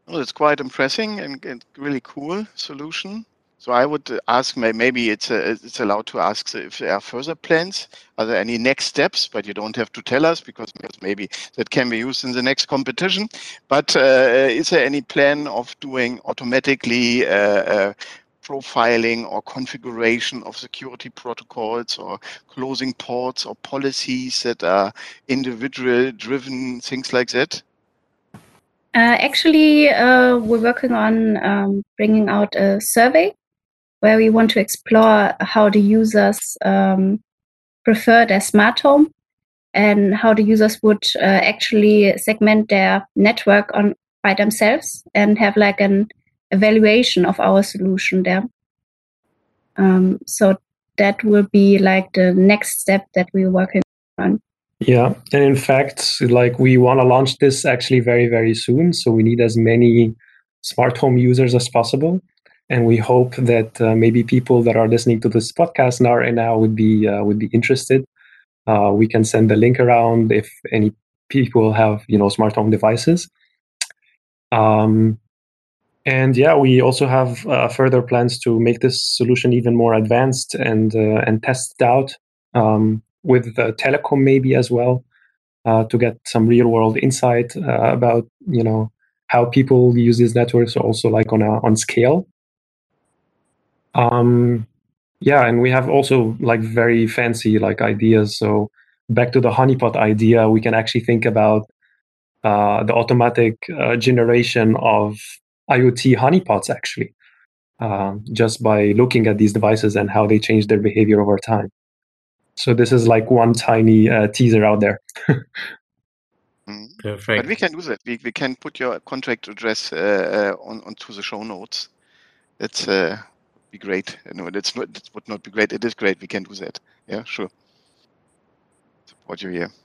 Speaker 1: Well, it's quite impressive and, and really cool solution. So I would ask, maybe it's a, it's allowed to ask if there are further plans. Are there any next steps? But you don't have to tell us because maybe that can be used in the next competition. But uh, is there any plan of doing automatically uh, uh, profiling or configuration of security protocols or closing ports or policies that are individual driven, things like that?
Speaker 8: Uh, actually, uh, we're working on um, bringing out a survey where we want to explore how the users um, prefer their smart home and how the users would uh, actually segment their network on by themselves and have like an evaluation of our solution there. Um, so that will be like the next step that we're working on.
Speaker 9: Yeah, and in fact, like we want to launch this actually very, very soon. So we need as many smart home users as possible. And we hope that uh, maybe people that are listening to this podcast now right now would be uh, would be interested. Uh, we can send the link around if any people have, you know, smart home devices. Um, and yeah, we also have uh, further plans to make this solution even more advanced and uh, and test it out um, with the telecom maybe as well uh, to get some real world insight uh, about, you know, how people use these networks also like on a on scale. Um, yeah, and we have also like very fancy like ideas. So back to the honeypot idea, we can actually think about uh, the automatic uh, generation of IoT honeypots actually, um, just by looking at these devices and how they change their behavior over time. So this is like one tiny uh, teaser out there.
Speaker 4: Perfect.
Speaker 1: But we can do that. We we can put your contract address uh, uh, on onto the show notes. That's uh, be great. No, that's not. That would not be great. It is great. We can do that. Yeah, sure. Support you here.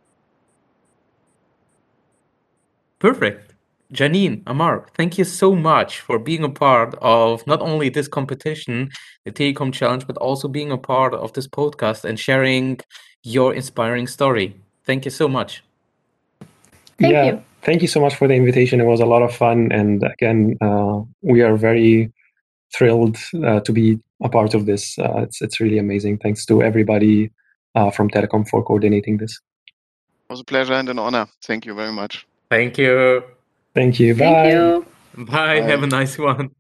Speaker 4: Perfect. Janine, Amar, thank you so much for being a part of not only this competition, the Telecom Challenge, but also being a part of this podcast and sharing your inspiring story. Thank you so much.
Speaker 8: Thank
Speaker 9: yeah,
Speaker 8: you.
Speaker 9: Thank you so much for the invitation. It was a lot of fun. And again, uh, we are very thrilled uh, to be a part of this. Uh, it's, it's really amazing. Thanks to everybody uh, from Telecom for coordinating this.
Speaker 1: It was a pleasure and an honor. Thank you very much.
Speaker 4: Thank you.
Speaker 9: Thank you. Bye.
Speaker 8: Thank you.
Speaker 4: Bye.
Speaker 1: Bye.
Speaker 4: Have a nice one.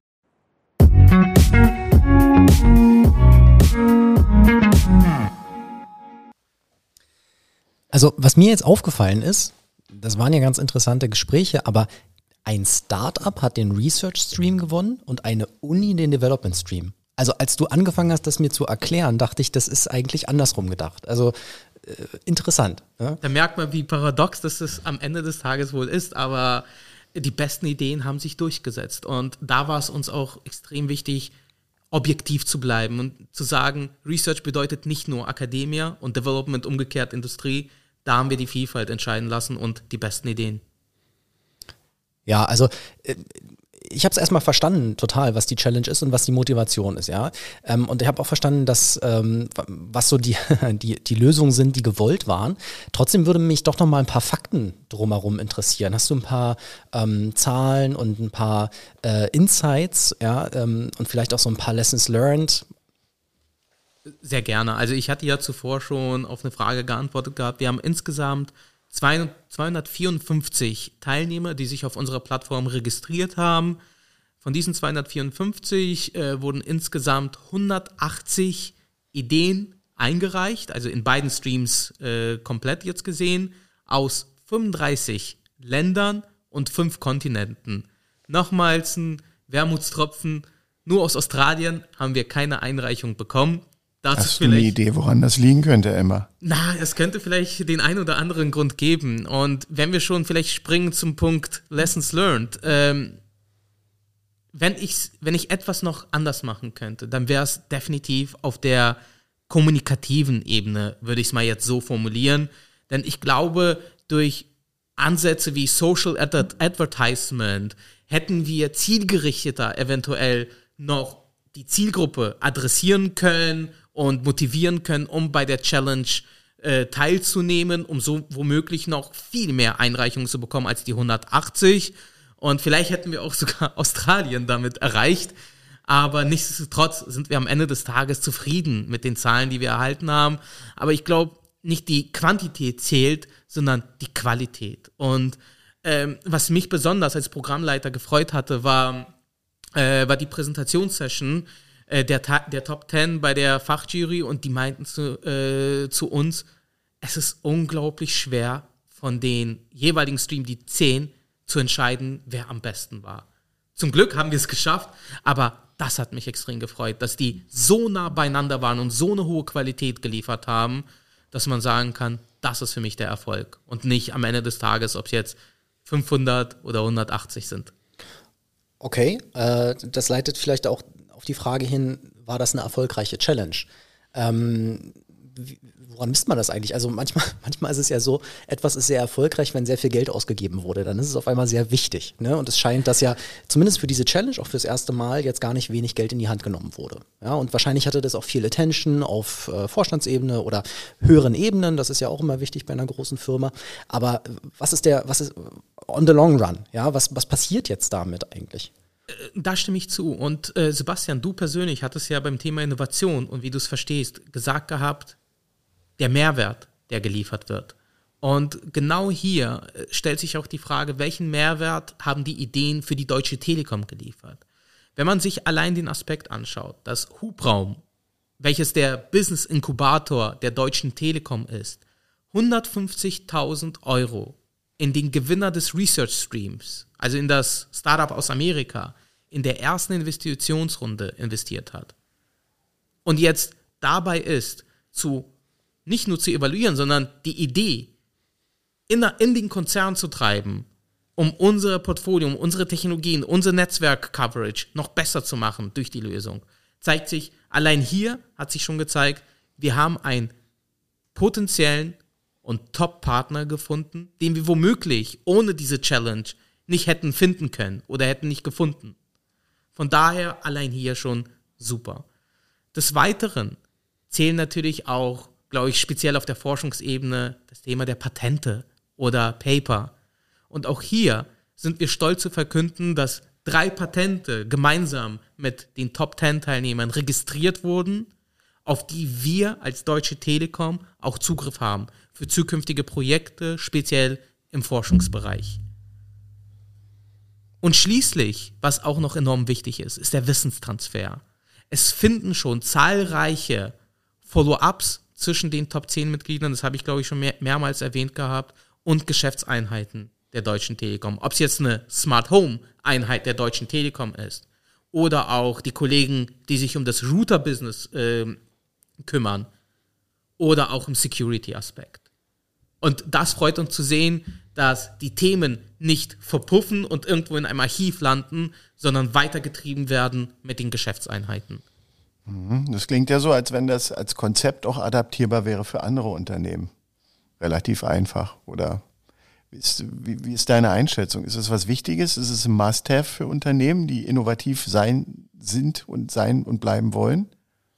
Speaker 2: Also, was mir jetzt aufgefallen ist, das waren ja ganz interessante Gespräche, aber ein Startup hat den Research Stream gewonnen und eine Uni den Development Stream. Also, als du angefangen hast, das mir zu erklären, dachte ich, das ist eigentlich andersrum gedacht. Also, äh, interessant. Ja?
Speaker 3: Da merkt man, wie paradox das es am Ende des Tages wohl ist, aber die besten Ideen haben sich durchgesetzt. Und da war es uns auch extrem wichtig, objektiv zu bleiben und zu sagen, Research bedeutet nicht nur Akademie und Development umgekehrt Industrie. Da haben wir die Vielfalt entscheiden lassen und die besten Ideen.
Speaker 2: Ja, also äh, ich habe es erstmal verstanden, total, was die Challenge ist und was die Motivation ist, ja. Ähm, und ich habe auch verstanden, dass ähm, was so die, die, die Lösungen sind, die gewollt waren. Trotzdem würde mich doch noch mal ein paar Fakten drumherum interessieren. Hast du ein paar ähm, Zahlen und ein paar äh, Insights, ja, ähm, und vielleicht auch so ein paar Lessons learned?
Speaker 3: Sehr gerne. Also ich hatte ja zuvor schon auf eine Frage geantwortet gehabt. Wir haben insgesamt zweihundertvierundfünfzig Teilnehmer, die sich auf unserer Plattform registriert haben. Von diesen zweihundertvierundfünfzig äh, wurden insgesamt hundertachtzig Ideen eingereicht, also in beiden Streams äh, komplett jetzt gesehen, aus fünfunddreißig Ländern und fünf Kontinenten. Nochmals ein Wermutstropfen, nur aus Australien haben wir keine Einreichung bekommen. Dazu
Speaker 1: Hast du eine Idee, woran das liegen könnte, Emma?
Speaker 3: Na, es könnte vielleicht den einen oder anderen Grund geben. Und wenn wir schon vielleicht springen zum Punkt Lessons learned, ähm, wenn ich, wenn ich etwas noch anders machen könnte, dann wäre es definitiv auf der kommunikativen Ebene, würde ich es mal jetzt so formulieren. Denn ich glaube, durch Ansätze wie Social Ad- Advertisement hätten wir zielgerichteter eventuell noch die Zielgruppe adressieren können und motivieren können, um bei der Challenge äh, teilzunehmen, um so womöglich noch viel mehr Einreichungen zu bekommen als die hundertachtzig. Und vielleicht hätten wir auch sogar Australien damit erreicht. Aber nichtsdestotrotz sind wir am Ende des Tages zufrieden mit den Zahlen, die wir erhalten haben. Aber ich glaube, nicht die Quantität zählt, sondern die Qualität. Und ähm, was mich besonders als Programmleiter gefreut hatte, war, äh, war die Präsentationssession äh, der, der Top Ten bei der Fachjury. Und die meinten zu, äh, zu uns, es ist unglaublich schwer, von den jeweiligen Stream, die zehn, zu entscheiden, wer am besten war. Zum Glück haben wir es geschafft, aber das hat mich extrem gefreut, dass die so nah beieinander waren und so eine hohe Qualität geliefert haben, dass man sagen kann, das ist für mich der Erfolg und nicht am Ende des Tages, ob es jetzt fünfhundert oder hundertachtzig sind.
Speaker 2: Okay, äh, das leitet vielleicht auch auf die Frage hin, war das eine erfolgreiche Challenge? Ähm, wie, woran misst man das eigentlich? Also manchmal, manchmal ist es ja so, etwas ist sehr erfolgreich, wenn sehr viel Geld ausgegeben wurde. Dann ist es auf einmal sehr wichtig. Ne? Und es scheint, dass ja zumindest für diese Challenge auch fürs erste Mal jetzt gar nicht wenig Geld in die Hand genommen wurde. Ja, und wahrscheinlich hatte das auch viel Attention auf äh, Vorstandsebene oder höheren Ebenen. Das ist ja auch immer wichtig bei einer großen Firma. Aber was ist der, was ist on the long run? Ja, was, was passiert jetzt damit eigentlich?
Speaker 3: Da stimme ich zu. Und äh, Sebastian, du persönlich hattest ja beim Thema Innovation und wie du es verstehst, gesagt gehabt, der Mehrwert, der geliefert wird. Und genau hier stellt sich auch die Frage, welchen Mehrwert haben die Ideen für die Deutsche Telekom geliefert? Wenn man sich allein den Aspekt anschaut, dass Hubraum, welches der Business-Inkubator der Deutschen Telekom ist, hundertfünfzigtausend Euro in den Gewinner des Research Streams, also in das Startup aus Amerika, in der ersten Investitionsrunde investiert hat. Und jetzt dabei ist, zu nicht nur zu evaluieren, sondern die Idee in, in den Konzern zu treiben, um unser Portfolio, um unsere Technologien, unser Netzwerk-Coverage noch besser zu machen durch die Lösung. Zeigt sich, allein hier hat sich schon gezeigt, wir haben einen potenziellen und Top-Partner gefunden, den wir womöglich ohne diese Challenge nicht hätten finden können oder hätten nicht gefunden. Von daher allein hier schon super. Des Weiteren zählen natürlich auch, glaube ich, speziell auf der Forschungsebene das Thema der Patente oder Paper. Und auch hier sind wir stolz zu verkünden, dass drei Patente gemeinsam mit den Top Ten Teilnehmern registriert wurden, auf die wir als Deutsche Telekom auch Zugriff haben für zukünftige Projekte, speziell im Forschungsbereich. Und schließlich, was auch noch enorm wichtig ist, ist der Wissenstransfer. Es finden schon zahlreiche Follow-ups zwischen den Top zehn Mitgliedern, das habe ich, glaube ich, schon mehr, mehrmals erwähnt gehabt, und Geschäftseinheiten der Deutschen Telekom. Ob es jetzt eine Smart Home Einheit der Deutschen Telekom ist oder auch die Kollegen, die sich um das Router-Business äh, kümmern oder auch im Security-Aspekt. Und das freut uns zu sehen, dass die Themen nicht verpuffen und irgendwo in einem Archiv landen, sondern weitergetrieben werden mit den Geschäftseinheiten.
Speaker 1: Das klingt ja so, als wenn das als Konzept auch adaptierbar wäre für andere Unternehmen. Relativ einfach, oder? Wie ist, wie, wie ist deine Einschätzung? Ist es was Wichtiges? Ist es ein Must-have für Unternehmen, die innovativ sein sind und sein und bleiben wollen?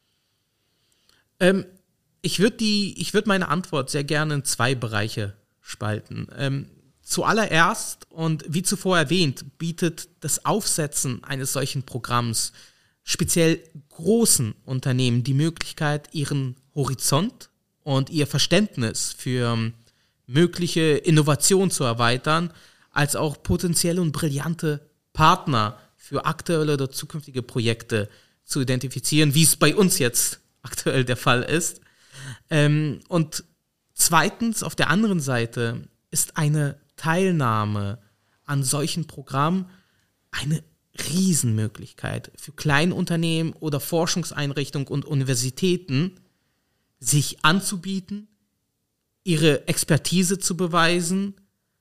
Speaker 3: Ähm, ich würde die, ich würde meine Antwort sehr gerne in zwei Bereiche spalten. Ähm, zuallererst, und wie zuvor erwähnt, bietet das Aufsetzen eines solchen Programms speziell großen Unternehmen die Möglichkeit, ihren Horizont und ihr Verständnis für mögliche Innovation zu erweitern, als auch potenzielle und brillante Partner für aktuelle oder zukünftige Projekte zu identifizieren, wie es bei uns jetzt aktuell der Fall ist. Ähm, und zweitens, auf der anderen Seite, ist eine Teilnahme an solchen Programmen eine Riesenmöglichkeit für Kleinunternehmen oder Forschungseinrichtungen und Universitäten, sich anzubieten, ihre Expertise zu beweisen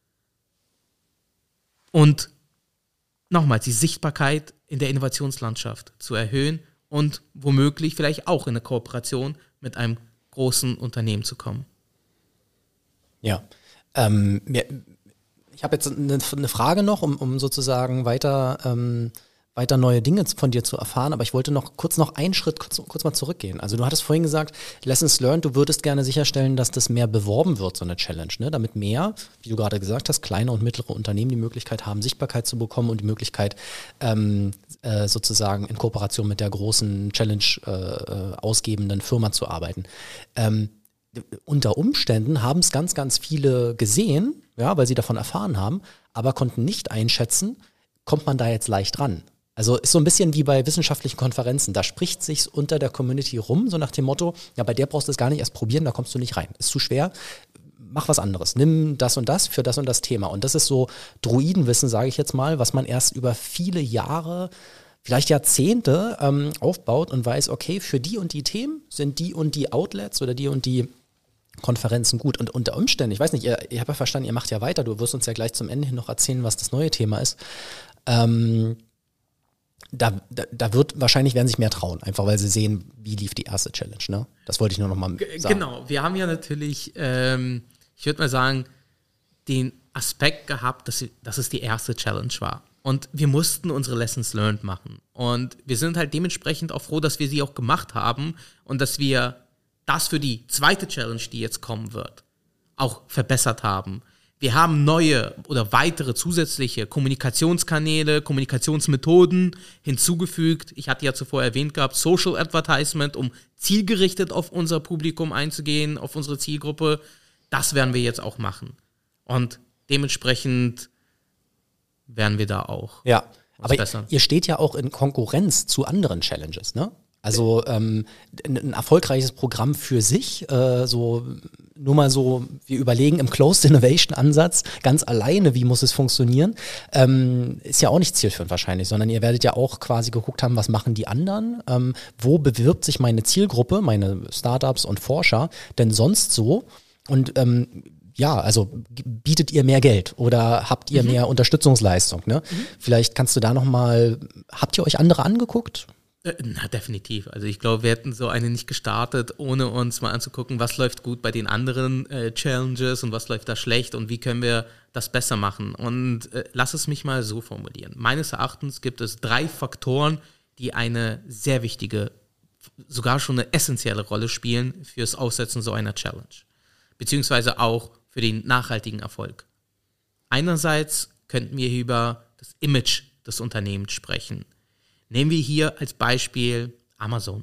Speaker 3: und nochmals die Sichtbarkeit in der Innovationslandschaft zu erhöhen und womöglich vielleicht auch in eine Kooperation mit einem großen Unternehmen zu kommen.
Speaker 2: Ja, ähm, ja ich habe jetzt eine, eine Frage noch, um, um sozusagen weiter, ähm, weiter neue Dinge von dir zu erfahren, aber ich wollte noch kurz noch einen Schritt kurz, kurz mal zurückgehen. Also du hattest vorhin gesagt, Lessons learned, du würdest gerne sicherstellen, dass das mehr beworben wird, so eine Challenge, ne? Damit mehr, wie du gerade gesagt hast, kleine und mittlere Unternehmen die Möglichkeit haben, Sichtbarkeit zu bekommen und die Möglichkeit, ähm, äh, sozusagen in Kooperation mit der großen Challenge äh, ausgebenden Firma zu arbeiten. Ähm, unter Umständen haben es ganz, ganz viele gesehen, ja, weil sie davon erfahren haben, aber konnten nicht einschätzen, kommt man da jetzt leicht ran. Also ist so ein bisschen wie bei wissenschaftlichen Konferenzen. Da spricht sich's unter der Community rum, so nach dem Motto, ja, bei der brauchst du es gar nicht erst probieren, da kommst du nicht rein. Ist zu schwer, mach was anderes. Nimm das und das für das und das Thema. Und das ist so Druidenwissen, sage ich jetzt mal, was man erst über viele Jahre, vielleicht Jahrzehnte ähm, aufbaut und weiß, okay, für die und die Themen sind die und die Outlets oder die und die Konferenzen gut. Und unter Umständen, ich weiß nicht, ihr, ihr habt ja verstanden, ihr macht ja weiter, du wirst uns ja gleich zum Ende hin noch erzählen, was das neue Thema ist. Ähm, Da, da, da wird wahrscheinlich werden sich mehr trauen, einfach weil sie sehen, wie lief die erste Challenge, ne? Das wollte ich nur noch mal sagen.
Speaker 3: Genau, wir haben ja natürlich, ähm, ich würde mal sagen, den Aspekt gehabt, dass, dass es die erste Challenge war. Und wir mussten unsere Lessons learned machen. Und wir sind halt dementsprechend auch froh, dass wir sie auch gemacht haben und dass wir das für die zweite Challenge, die jetzt kommen wird, auch verbessert haben. Wir haben neue oder weitere zusätzliche Kommunikationskanäle, Kommunikationsmethoden hinzugefügt. Ich hatte ja zuvor erwähnt gehabt, Social Advertisement, um zielgerichtet auf unser Publikum einzugehen, auf unsere Zielgruppe. Das werden wir jetzt auch machen. Und dementsprechend werden wir da auch
Speaker 2: ja, aber
Speaker 3: bessern.
Speaker 2: Ihr steht ja auch in Konkurrenz zu anderen Challenges, ne? Also ähm, ein, ein erfolgreiches Programm für sich, äh, so nur mal so, wir überlegen im Closed Innovation Ansatz ganz alleine, wie muss es funktionieren, ähm, ist ja auch nicht zielführend wahrscheinlich, sondern ihr werdet ja auch quasi geguckt haben, was machen die anderen, ähm, wo bewirbt sich meine Zielgruppe, meine Startups und Forscher denn sonst so und ähm, ja, also bietet ihr mehr Geld oder habt ihr mhm. mehr Unterstützungsleistung, ne? Mhm. Vielleicht kannst du da nochmal, habt ihr euch andere angeguckt?
Speaker 3: Na, definitiv. Also ich glaube, wir hätten so eine nicht gestartet, ohne uns mal anzugucken, was läuft gut bei den anderen äh, Challenges und was läuft da schlecht und wie können wir das besser machen. Und äh, lass es mich mal so formulieren. Meines Erachtens gibt es drei Faktoren, die eine sehr wichtige, sogar schon eine essentielle Rolle spielen fürs Aussetzen so einer Challenge. Beziehungsweise auch für den nachhaltigen Erfolg. Einerseits könnten wir über das Image des Unternehmens sprechen. Nehmen wir hier als Beispiel Amazon.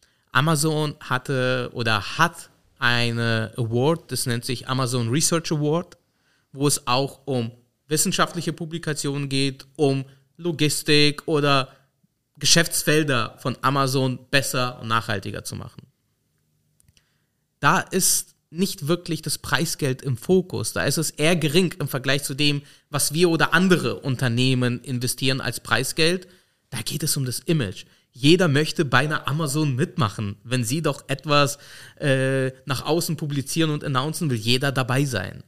Speaker 3: Amazon hatte oder hat eine Award, das nennt sich Amazon Research Award, wo es auch um wissenschaftliche Publikationen geht, um Logistik oder Geschäftsfelder von Amazon besser und nachhaltiger zu machen. Da ist nicht wirklich das Preisgeld im Fokus. Da ist es eher gering im Vergleich zu dem, was wir oder andere Unternehmen investieren als Preisgeld. Da geht es um das Image. Jeder möchte bei einer Amazon mitmachen. Wenn sie doch etwas äh, nach außen publizieren und announcen, will jeder dabei sein.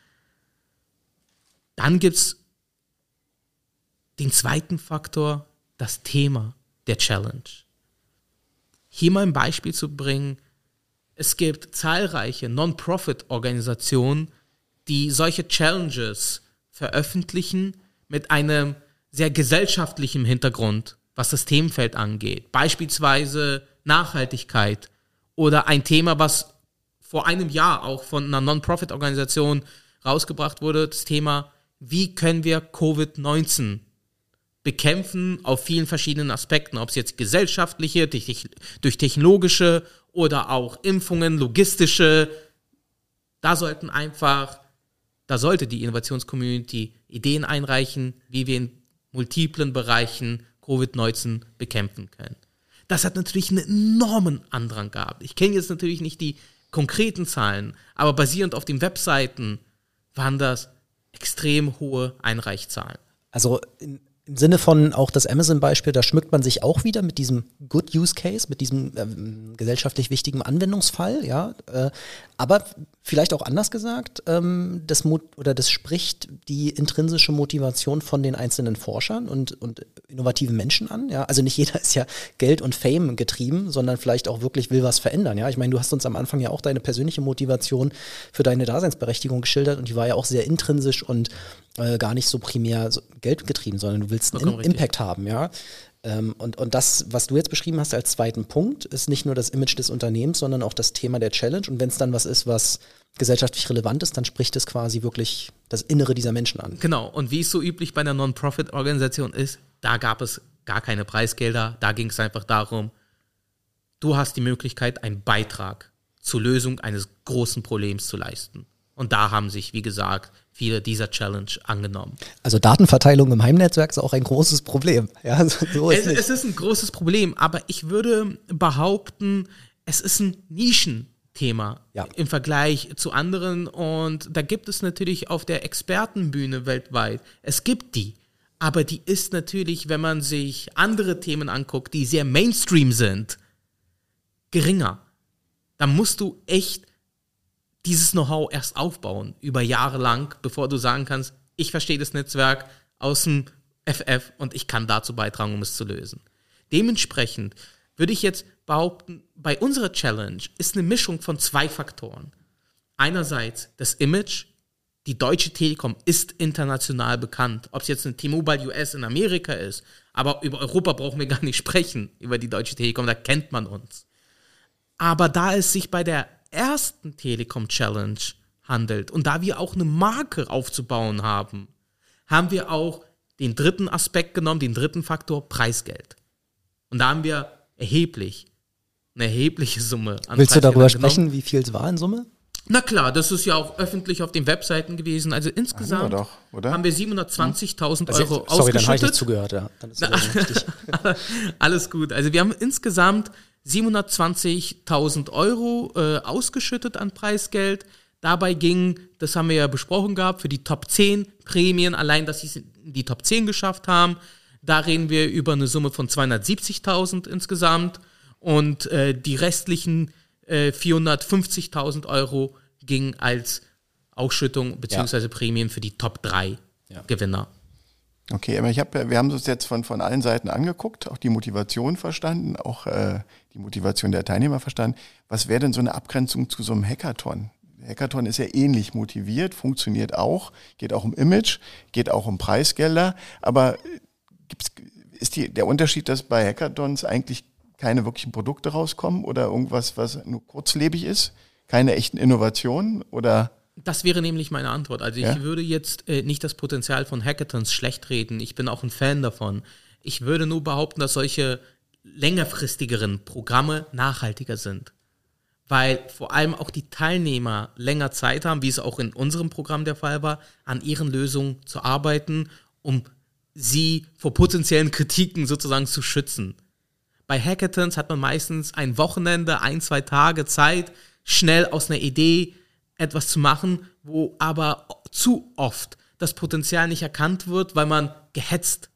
Speaker 3: Dann gibt es den zweiten Faktor, das Thema der Challenge. Hier mal ein Beispiel zu bringen. Es gibt zahlreiche Non-Profit-Organisationen, die solche Challenges veröffentlichen mit einem sehr gesellschaftlichem Hintergrund, was das Themenfeld angeht. Beispielsweise Nachhaltigkeit oder ein Thema, was vor einem Jahr auch von einer Non-Profit-Organisation rausgebracht wurde, das Thema, wie können wir Covid neunzehn bekämpfen auf vielen verschiedenen Aspekten, ob es jetzt gesellschaftliche, durch technologische oder auch Impfungen, logistische. Da sollten einfach, da sollte die Innovationscommunity Ideen einreichen, wie wir in multiplen Bereichen Covid neunzehn bekämpfen können. Das hat natürlich einen enormen Andrang gehabt. Ich kenne jetzt natürlich nicht die konkreten Zahlen, aber basierend auf den Webseiten waren das extrem hohe Einreichzahlen.
Speaker 2: Also in Im Sinne von auch das Amazon-Beispiel, da schmückt man sich auch wieder mit diesem Good Use Case, mit diesem ähm, gesellschaftlich wichtigen Anwendungsfall, ja. Äh, aber vielleicht auch anders gesagt, ähm, das Mut oder das spricht die intrinsische Motivation von den einzelnen Forschern und, und innovativen Menschen an, ja. Also nicht jeder ist ja Geld und Fame getrieben, sondern vielleicht auch wirklich will was verändern, ja. Ich meine, du hast uns am Anfang ja auch deine persönliche Motivation für deine Daseinsberechtigung geschildert und die war ja auch sehr intrinsisch und äh, gar nicht so primär so geldgetrieben, sondern du willst einen
Speaker 3: Vollkommen
Speaker 2: Im-
Speaker 3: richtig.
Speaker 2: Impact haben, ja. Ähm, und, und das, was du jetzt beschrieben hast als zweiten Punkt, ist nicht nur das Image des Unternehmens, sondern auch das Thema der Challenge. Und wenn es dann was ist, was gesellschaftlich relevant ist, dann spricht es quasi wirklich das Innere dieser Menschen an.
Speaker 3: Genau, und wie es so üblich bei einer Non-Profit-Organisation ist, da gab es gar keine Preisgelder, da ging es einfach darum, du hast die Möglichkeit, einen Beitrag zur Lösung eines großen Problems zu leisten. Und da haben sich, wie gesagt, viele dieser Challenge angenommen.
Speaker 2: Also Datenverteilung im Heimnetzwerk ist auch ein großes Problem. Ja, so, so ist
Speaker 3: Es,
Speaker 2: nicht.
Speaker 3: es ist ein großes Problem, aber ich würde behaupten, es ist ein Nischenthema
Speaker 2: Ja.
Speaker 3: im Vergleich zu anderen. Und da gibt es natürlich auf der Expertenbühne weltweit, es gibt die. Aber die ist natürlich, wenn man sich andere Themen anguckt, die sehr Mainstream sind, geringer. Da musst du echt dieses Know-how erst aufbauen, über Jahre lang, bevor du sagen kannst, ich verstehe das Netzwerk aus dem F F und ich kann dazu beitragen, um es zu lösen. Dementsprechend würde ich jetzt behaupten, bei unserer Challenge ist eine Mischung von zwei Faktoren. Einerseits das Image. Die Deutsche Telekom ist international bekannt. Ob es jetzt eine T-Mobile U S in Amerika ist, aber über Europa brauchen wir gar nicht sprechen, über die Deutsche Telekom, da kennt man uns. Aber da es sich bei der ersten Telekom-Challenge handelt und da wir auch eine Marke aufzubauen haben, haben wir auch den dritten Aspekt genommen, den dritten Faktor, Preisgeld. Und da haben wir erheblich, eine erhebliche Summe an
Speaker 2: Willst du darüber
Speaker 3: Preisgeldern
Speaker 2: sprechen,
Speaker 3: genommen.
Speaker 2: wie viel es war in Summe?
Speaker 3: Na klar, das ist ja auch öffentlich auf den Webseiten gewesen. Also
Speaker 1: Haben wir
Speaker 3: insgesamt
Speaker 1: doch, oder?
Speaker 3: haben wir siebenhundertzwanzigtausend
Speaker 2: Also,
Speaker 3: Euro
Speaker 2: sorry, dann habe ich
Speaker 3: ausgeschüttet.
Speaker 2: nicht zugehört. Ja. Dann ist das richtig.
Speaker 3: Alles gut. Also wir haben insgesamt siebenhundertzwanzigtausend Euro äh, ausgeschüttet an Preisgeld. Dabei ging, das haben wir ja besprochen gehabt, für die Top zehn Prämien, allein, dass sie es in die Top zehn geschafft haben. Da reden wir über eine Summe von zweihundertsiebzigtausend insgesamt. Und äh, die restlichen äh, vierhundertfünfzigtausend Euro gingen als Ausschüttung bzw. Prämien für die Top drei
Speaker 2: Ja.
Speaker 3: Gewinner.
Speaker 1: Okay, aber ich hab, ja- wir haben uns jetzt von, von allen Seiten angeguckt, auch die Motivation verstanden, auch äh, die Motivation der Teilnehmer verstanden. Was wäre denn so eine Abgrenzung zu so einem Hackathon? Der Hackathon ist ja ähnlich motiviert, funktioniert auch, geht auch um Image, geht auch um Preisgelder, aber äh, gibt's, ist die, der Unterschied, dass bei Hackathons eigentlich keine wirklichen Produkte rauskommen oder irgendwas, was nur kurzlebig ist? Keine echten Innovationen oder?
Speaker 3: Das wäre nämlich meine Antwort. Also ich
Speaker 1: Ja?
Speaker 3: würde jetzt äh, nicht das Potenzial von Hackathons schlecht reden. Ich bin auch ein Fan davon. Ich würde nur behaupten, dass solche längerfristigeren Programme nachhaltiger sind. Weil vor allem auch die Teilnehmer länger Zeit haben, wie es auch in unserem Programm der Fall war, an ihren Lösungen zu arbeiten, um sie vor potenziellen Kritiken sozusagen zu schützen. Bei Hackathons hat man meistens ein Wochenende, ein, zwei Tage Zeit, schnell aus einer Idee etwas zu machen, wo aber zu oft das Potenzial nicht erkannt wird, weil man gehetzt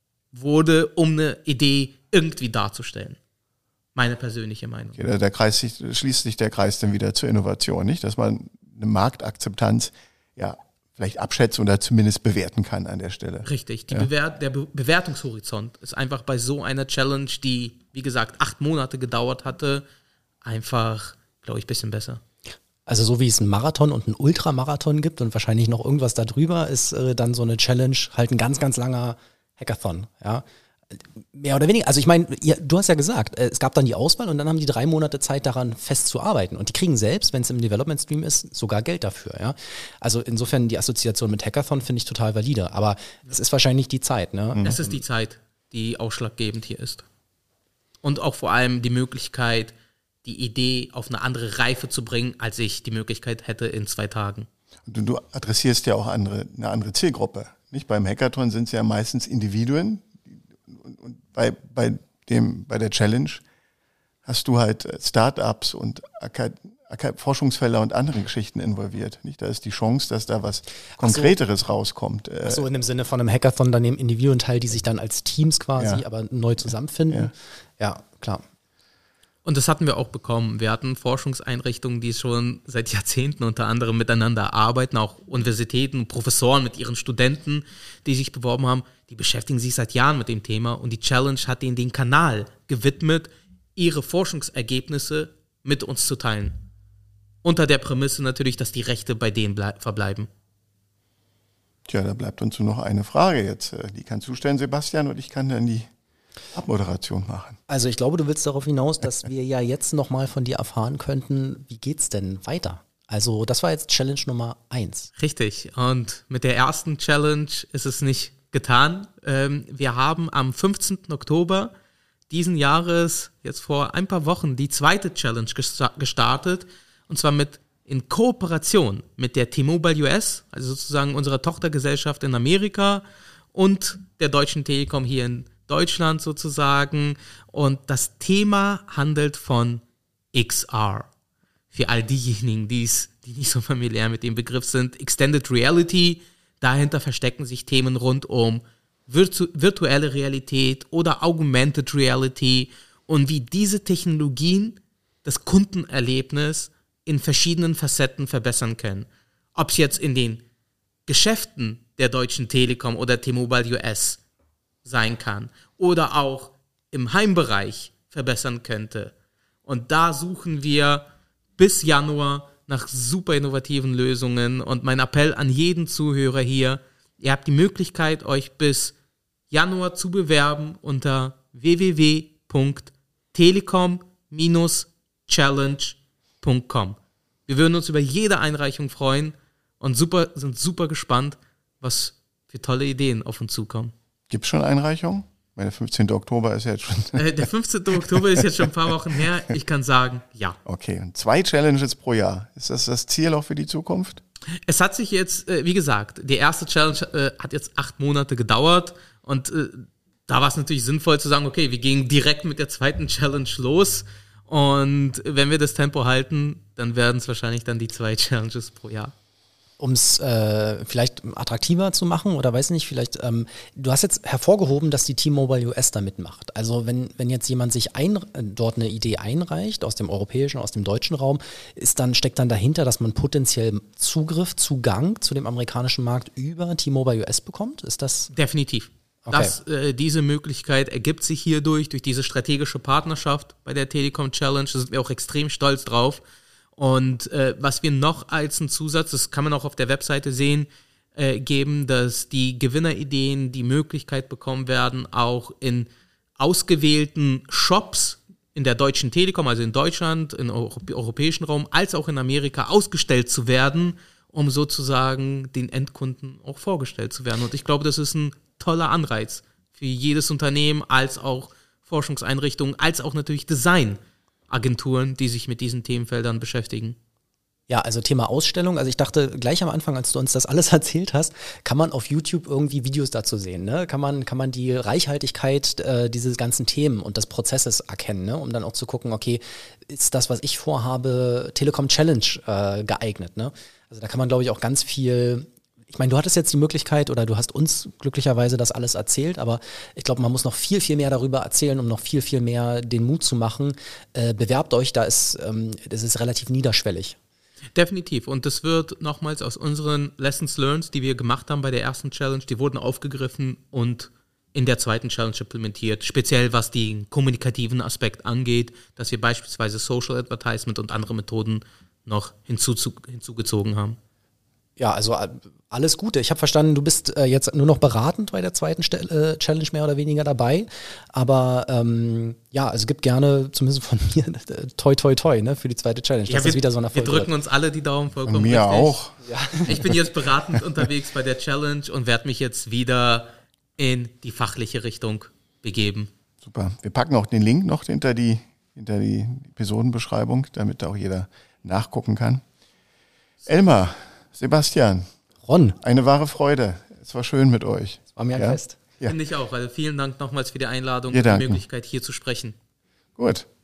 Speaker 3: wurde, um eine Idee irgendwie darzustellen. Meine persönliche Meinung.
Speaker 1: Okay, der Kreis sich, schließt sich der Kreis dann wieder zur Innovation, nicht? Dass man eine Marktakzeptanz ja vielleicht abschätzen oder zumindest bewerten kann an der Stelle.
Speaker 3: Richtig. Die
Speaker 1: Ja.
Speaker 3: Bewert, der Be Bewertungshorizont ist einfach bei so einer Challenge, die, wie gesagt, acht Monate gedauert hatte, einfach, glaube ich, ein bisschen besser.
Speaker 2: Also so wie es einen Marathon und einen Ultramarathon gibt und wahrscheinlich noch irgendwas darüber, ist äh, dann so eine Challenge halt ein ganz, ganz langer Hackathon, ja. Mehr oder weniger. Also ich meine, ihr- du hast ja gesagt, äh, es gab dann die Auswahl und dann haben die drei Monate Zeit daran festzuarbeiten. Und die kriegen selbst, wenn es im Development Stream ist, sogar Geld dafür, ja. Also insofern die Assoziation mit Hackathon finde ich total valide. Aber es ist wahrscheinlich die Zeit, ne?
Speaker 3: Es ist die Zeit, die ausschlaggebend hier ist. Und auch vor allem die Möglichkeit, die Idee auf eine andere Reife zu bringen, als ich die Möglichkeit hätte in zwei Tagen.
Speaker 1: Du, du adressierst ja auch andere, eine andere Zielgruppe. Nicht? Beim Hackathon sind es ja meistens Individuen und, und bei, bei, dem, bei der Challenge hast du halt Startups und Aka- Aka- Forschungsfelder und andere Geschichten involviert. Nicht? Da ist die Chance, dass da was Konkreteres rauskommt. Äh,
Speaker 2: So in dem Sinne von einem Hackathon, da nehmen Individuen teil, die sich dann als Teams quasi
Speaker 1: Ja.
Speaker 2: aber neu zusammenfinden. Ja, klar.
Speaker 3: Und das hatten wir auch bekommen. Wir hatten Forschungseinrichtungen, die schon seit Jahrzehnten unter anderem miteinander arbeiten, auch Universitäten, Professoren mit ihren Studenten, die sich beworben haben, die beschäftigen sich seit Jahren mit dem Thema und die Challenge hat ihnen den Kanal gewidmet, ihre Forschungsergebnisse mit uns zu teilen. Unter der Prämisse natürlich, dass die Rechte bei denen blei- verbleiben.
Speaker 1: Tja, da bleibt uns nur noch eine Frage jetzt. Die kannst du stellen, Sebastian, und ich kann dann die Abmoderation machen.
Speaker 2: Also ich glaube, du willst darauf hinaus, dass wir ja jetzt nochmal von dir erfahren könnten, wie geht's denn weiter? Also das war jetzt Challenge Nummer eins.
Speaker 3: Richtig. Und mit der ersten Challenge ist es nicht getan. Ähm, wir haben am fünfzehnten Oktober diesen Jahres, jetzt vor ein paar Wochen, die zweite Challenge gesta- gestartet. Und zwar mit in Kooperation mit der T-Mobile U S, also sozusagen unserer Tochtergesellschaft in Amerika und der Deutschen Telekom hier in Deutschland sozusagen. Und das Thema handelt von X R. Für all diejenigen, die's, die nicht so familiär mit dem Begriff sind, Extended Reality, dahinter verstecken sich Themen rund um virtu- virtuelle Realität oder Augmented Reality und wie diese Technologien das Kundenerlebnis in verschiedenen Facetten verbessern können. Ob es jetzt in den Geschäften der Deutschen Telekom oder T-Mobile U S sein kann oder auch im Heimbereich verbessern könnte. Und da suchen wir bis Januar nach super innovativen Lösungen. Und mein Appell an jeden Zuhörer hier, ihr habt die Möglichkeit, euch bis Januar zu bewerben unter w w w punkt telekom dash challenge punkt com. Wir würden uns über jede Einreichung freuen und super, sind super gespannt, was für tolle Ideen auf uns zukommen.
Speaker 1: Gibt es schon Einreichungen? Weil der fünfzehnten Oktober ist ja jetzt schon...
Speaker 3: Äh, der fünfzehnten Oktober ist jetzt schon ein paar Wochen her. Ich kann sagen, ja.
Speaker 1: Okay, und zwei Challenges pro Jahr. Ist das das Ziel auch für die Zukunft?
Speaker 3: Es hat sich jetzt, äh, wie gesagt, die erste Challenge äh, hat jetzt acht Monate gedauert und äh, da war es natürlich sinnvoll zu sagen, okay, wir gehen direkt mit der zweiten Challenge los und wenn wir das Tempo halten, dann werden es wahrscheinlich dann die zwei Challenges pro Jahr.
Speaker 2: Um es äh, vielleicht attraktiver zu machen oder weiß nicht, vielleicht, ähm, du hast jetzt hervorgehoben, dass die T-Mobile U S da mitmacht. Also wenn, wenn jetzt jemand sich ein, dort eine Idee einreicht, aus dem europäischen, aus dem deutschen Raum, ist dann, steckt dann dahinter, dass man potenziell Zugriff, Zugang zu dem amerikanischen Markt über T-Mobile U S bekommt? Ist das?
Speaker 3: Definitiv. Okay. Das, äh, diese Möglichkeit ergibt sich hierdurch, durch diese strategische Partnerschaft bei der Telekom Challenge. Da sind wir auch extrem stolz drauf. Und äh, was wir noch als einen Zusatz, das kann man auch auf der Webseite sehen, äh, geben, dass die Gewinnerideen die Möglichkeit bekommen werden, auch in ausgewählten Shops in der Deutschen Telekom, also in Deutschland, im Europ- europäischen Raum, als auch in Amerika ausgestellt zu werden, um sozusagen den Endkunden auch vorgestellt zu werden. Und ich glaube, das ist ein toller Anreiz für jedes Unternehmen, als auch Forschungseinrichtungen, als auch natürlich Design. Agenturen, die sich mit diesen Themenfeldern beschäftigen.
Speaker 2: Ja, also Thema Ausstellung. Also ich dachte gleich am Anfang, als du uns das alles erzählt hast, kann man auf YouTube irgendwie Videos dazu sehen, ne? Kann man, kann man die Reichhaltigkeit äh, dieses ganzen Themen und des Prozesses erkennen, ne? Um dann auch zu gucken, okay, ist das, was ich vorhabe, Telekom Challenge äh, geeignet, ne? Also da kann man, glaube ich, auch ganz viel. Ich meine, du hattest jetzt die Möglichkeit oder du hast uns glücklicherweise das alles erzählt, aber ich glaube, man muss noch viel, viel mehr darüber erzählen, um noch viel, viel mehr den Mut zu machen. Äh, bewerbt euch, da ist, ähm, das ist relativ niederschwellig.
Speaker 3: Definitiv. Und das wird nochmals aus unseren Lessons learned, die wir gemacht haben bei der ersten Challenge, die wurden aufgegriffen und in der zweiten Challenge implementiert. Speziell was den kommunikativen Aspekt angeht, dass wir beispielsweise Social Advertisement und andere Methoden noch hinzu, hinzugezogen haben.
Speaker 2: Ja, also alles Gute. Ich habe verstanden, du bist äh, jetzt nur noch beratend bei der zweiten Stel- äh, Challenge mehr oder weniger dabei. Aber ähm, ja, also gibt gerne, zumindest von mir, toi toi toi, ne, für die zweite Challenge.
Speaker 3: Ja,
Speaker 2: das
Speaker 3: wir,
Speaker 2: ist wieder so ein Erfolg.
Speaker 3: Wir drücken wird. uns alle die Daumen vollkommen.
Speaker 1: Und mir
Speaker 3: richtig.
Speaker 1: auch.
Speaker 3: Ja. Ich bin jetzt beratend unterwegs bei der Challenge und werde mich jetzt wieder in die fachliche Richtung begeben.
Speaker 1: Super. Wir packen auch den Link noch hinter die, hinter die Episodenbeschreibung, damit da auch jeder nachgucken kann. Elmar, Sebastian,
Speaker 2: Ron,
Speaker 1: eine wahre Freude. Es war schön mit euch.
Speaker 2: Es war mir ein
Speaker 1: ja?
Speaker 2: Fest.
Speaker 1: Ja.
Speaker 3: Finde ich auch. Also vielen Dank nochmals für die Einladung
Speaker 1: Wir
Speaker 3: und die
Speaker 1: danken.
Speaker 3: Möglichkeit, hier zu sprechen.
Speaker 1: Gut,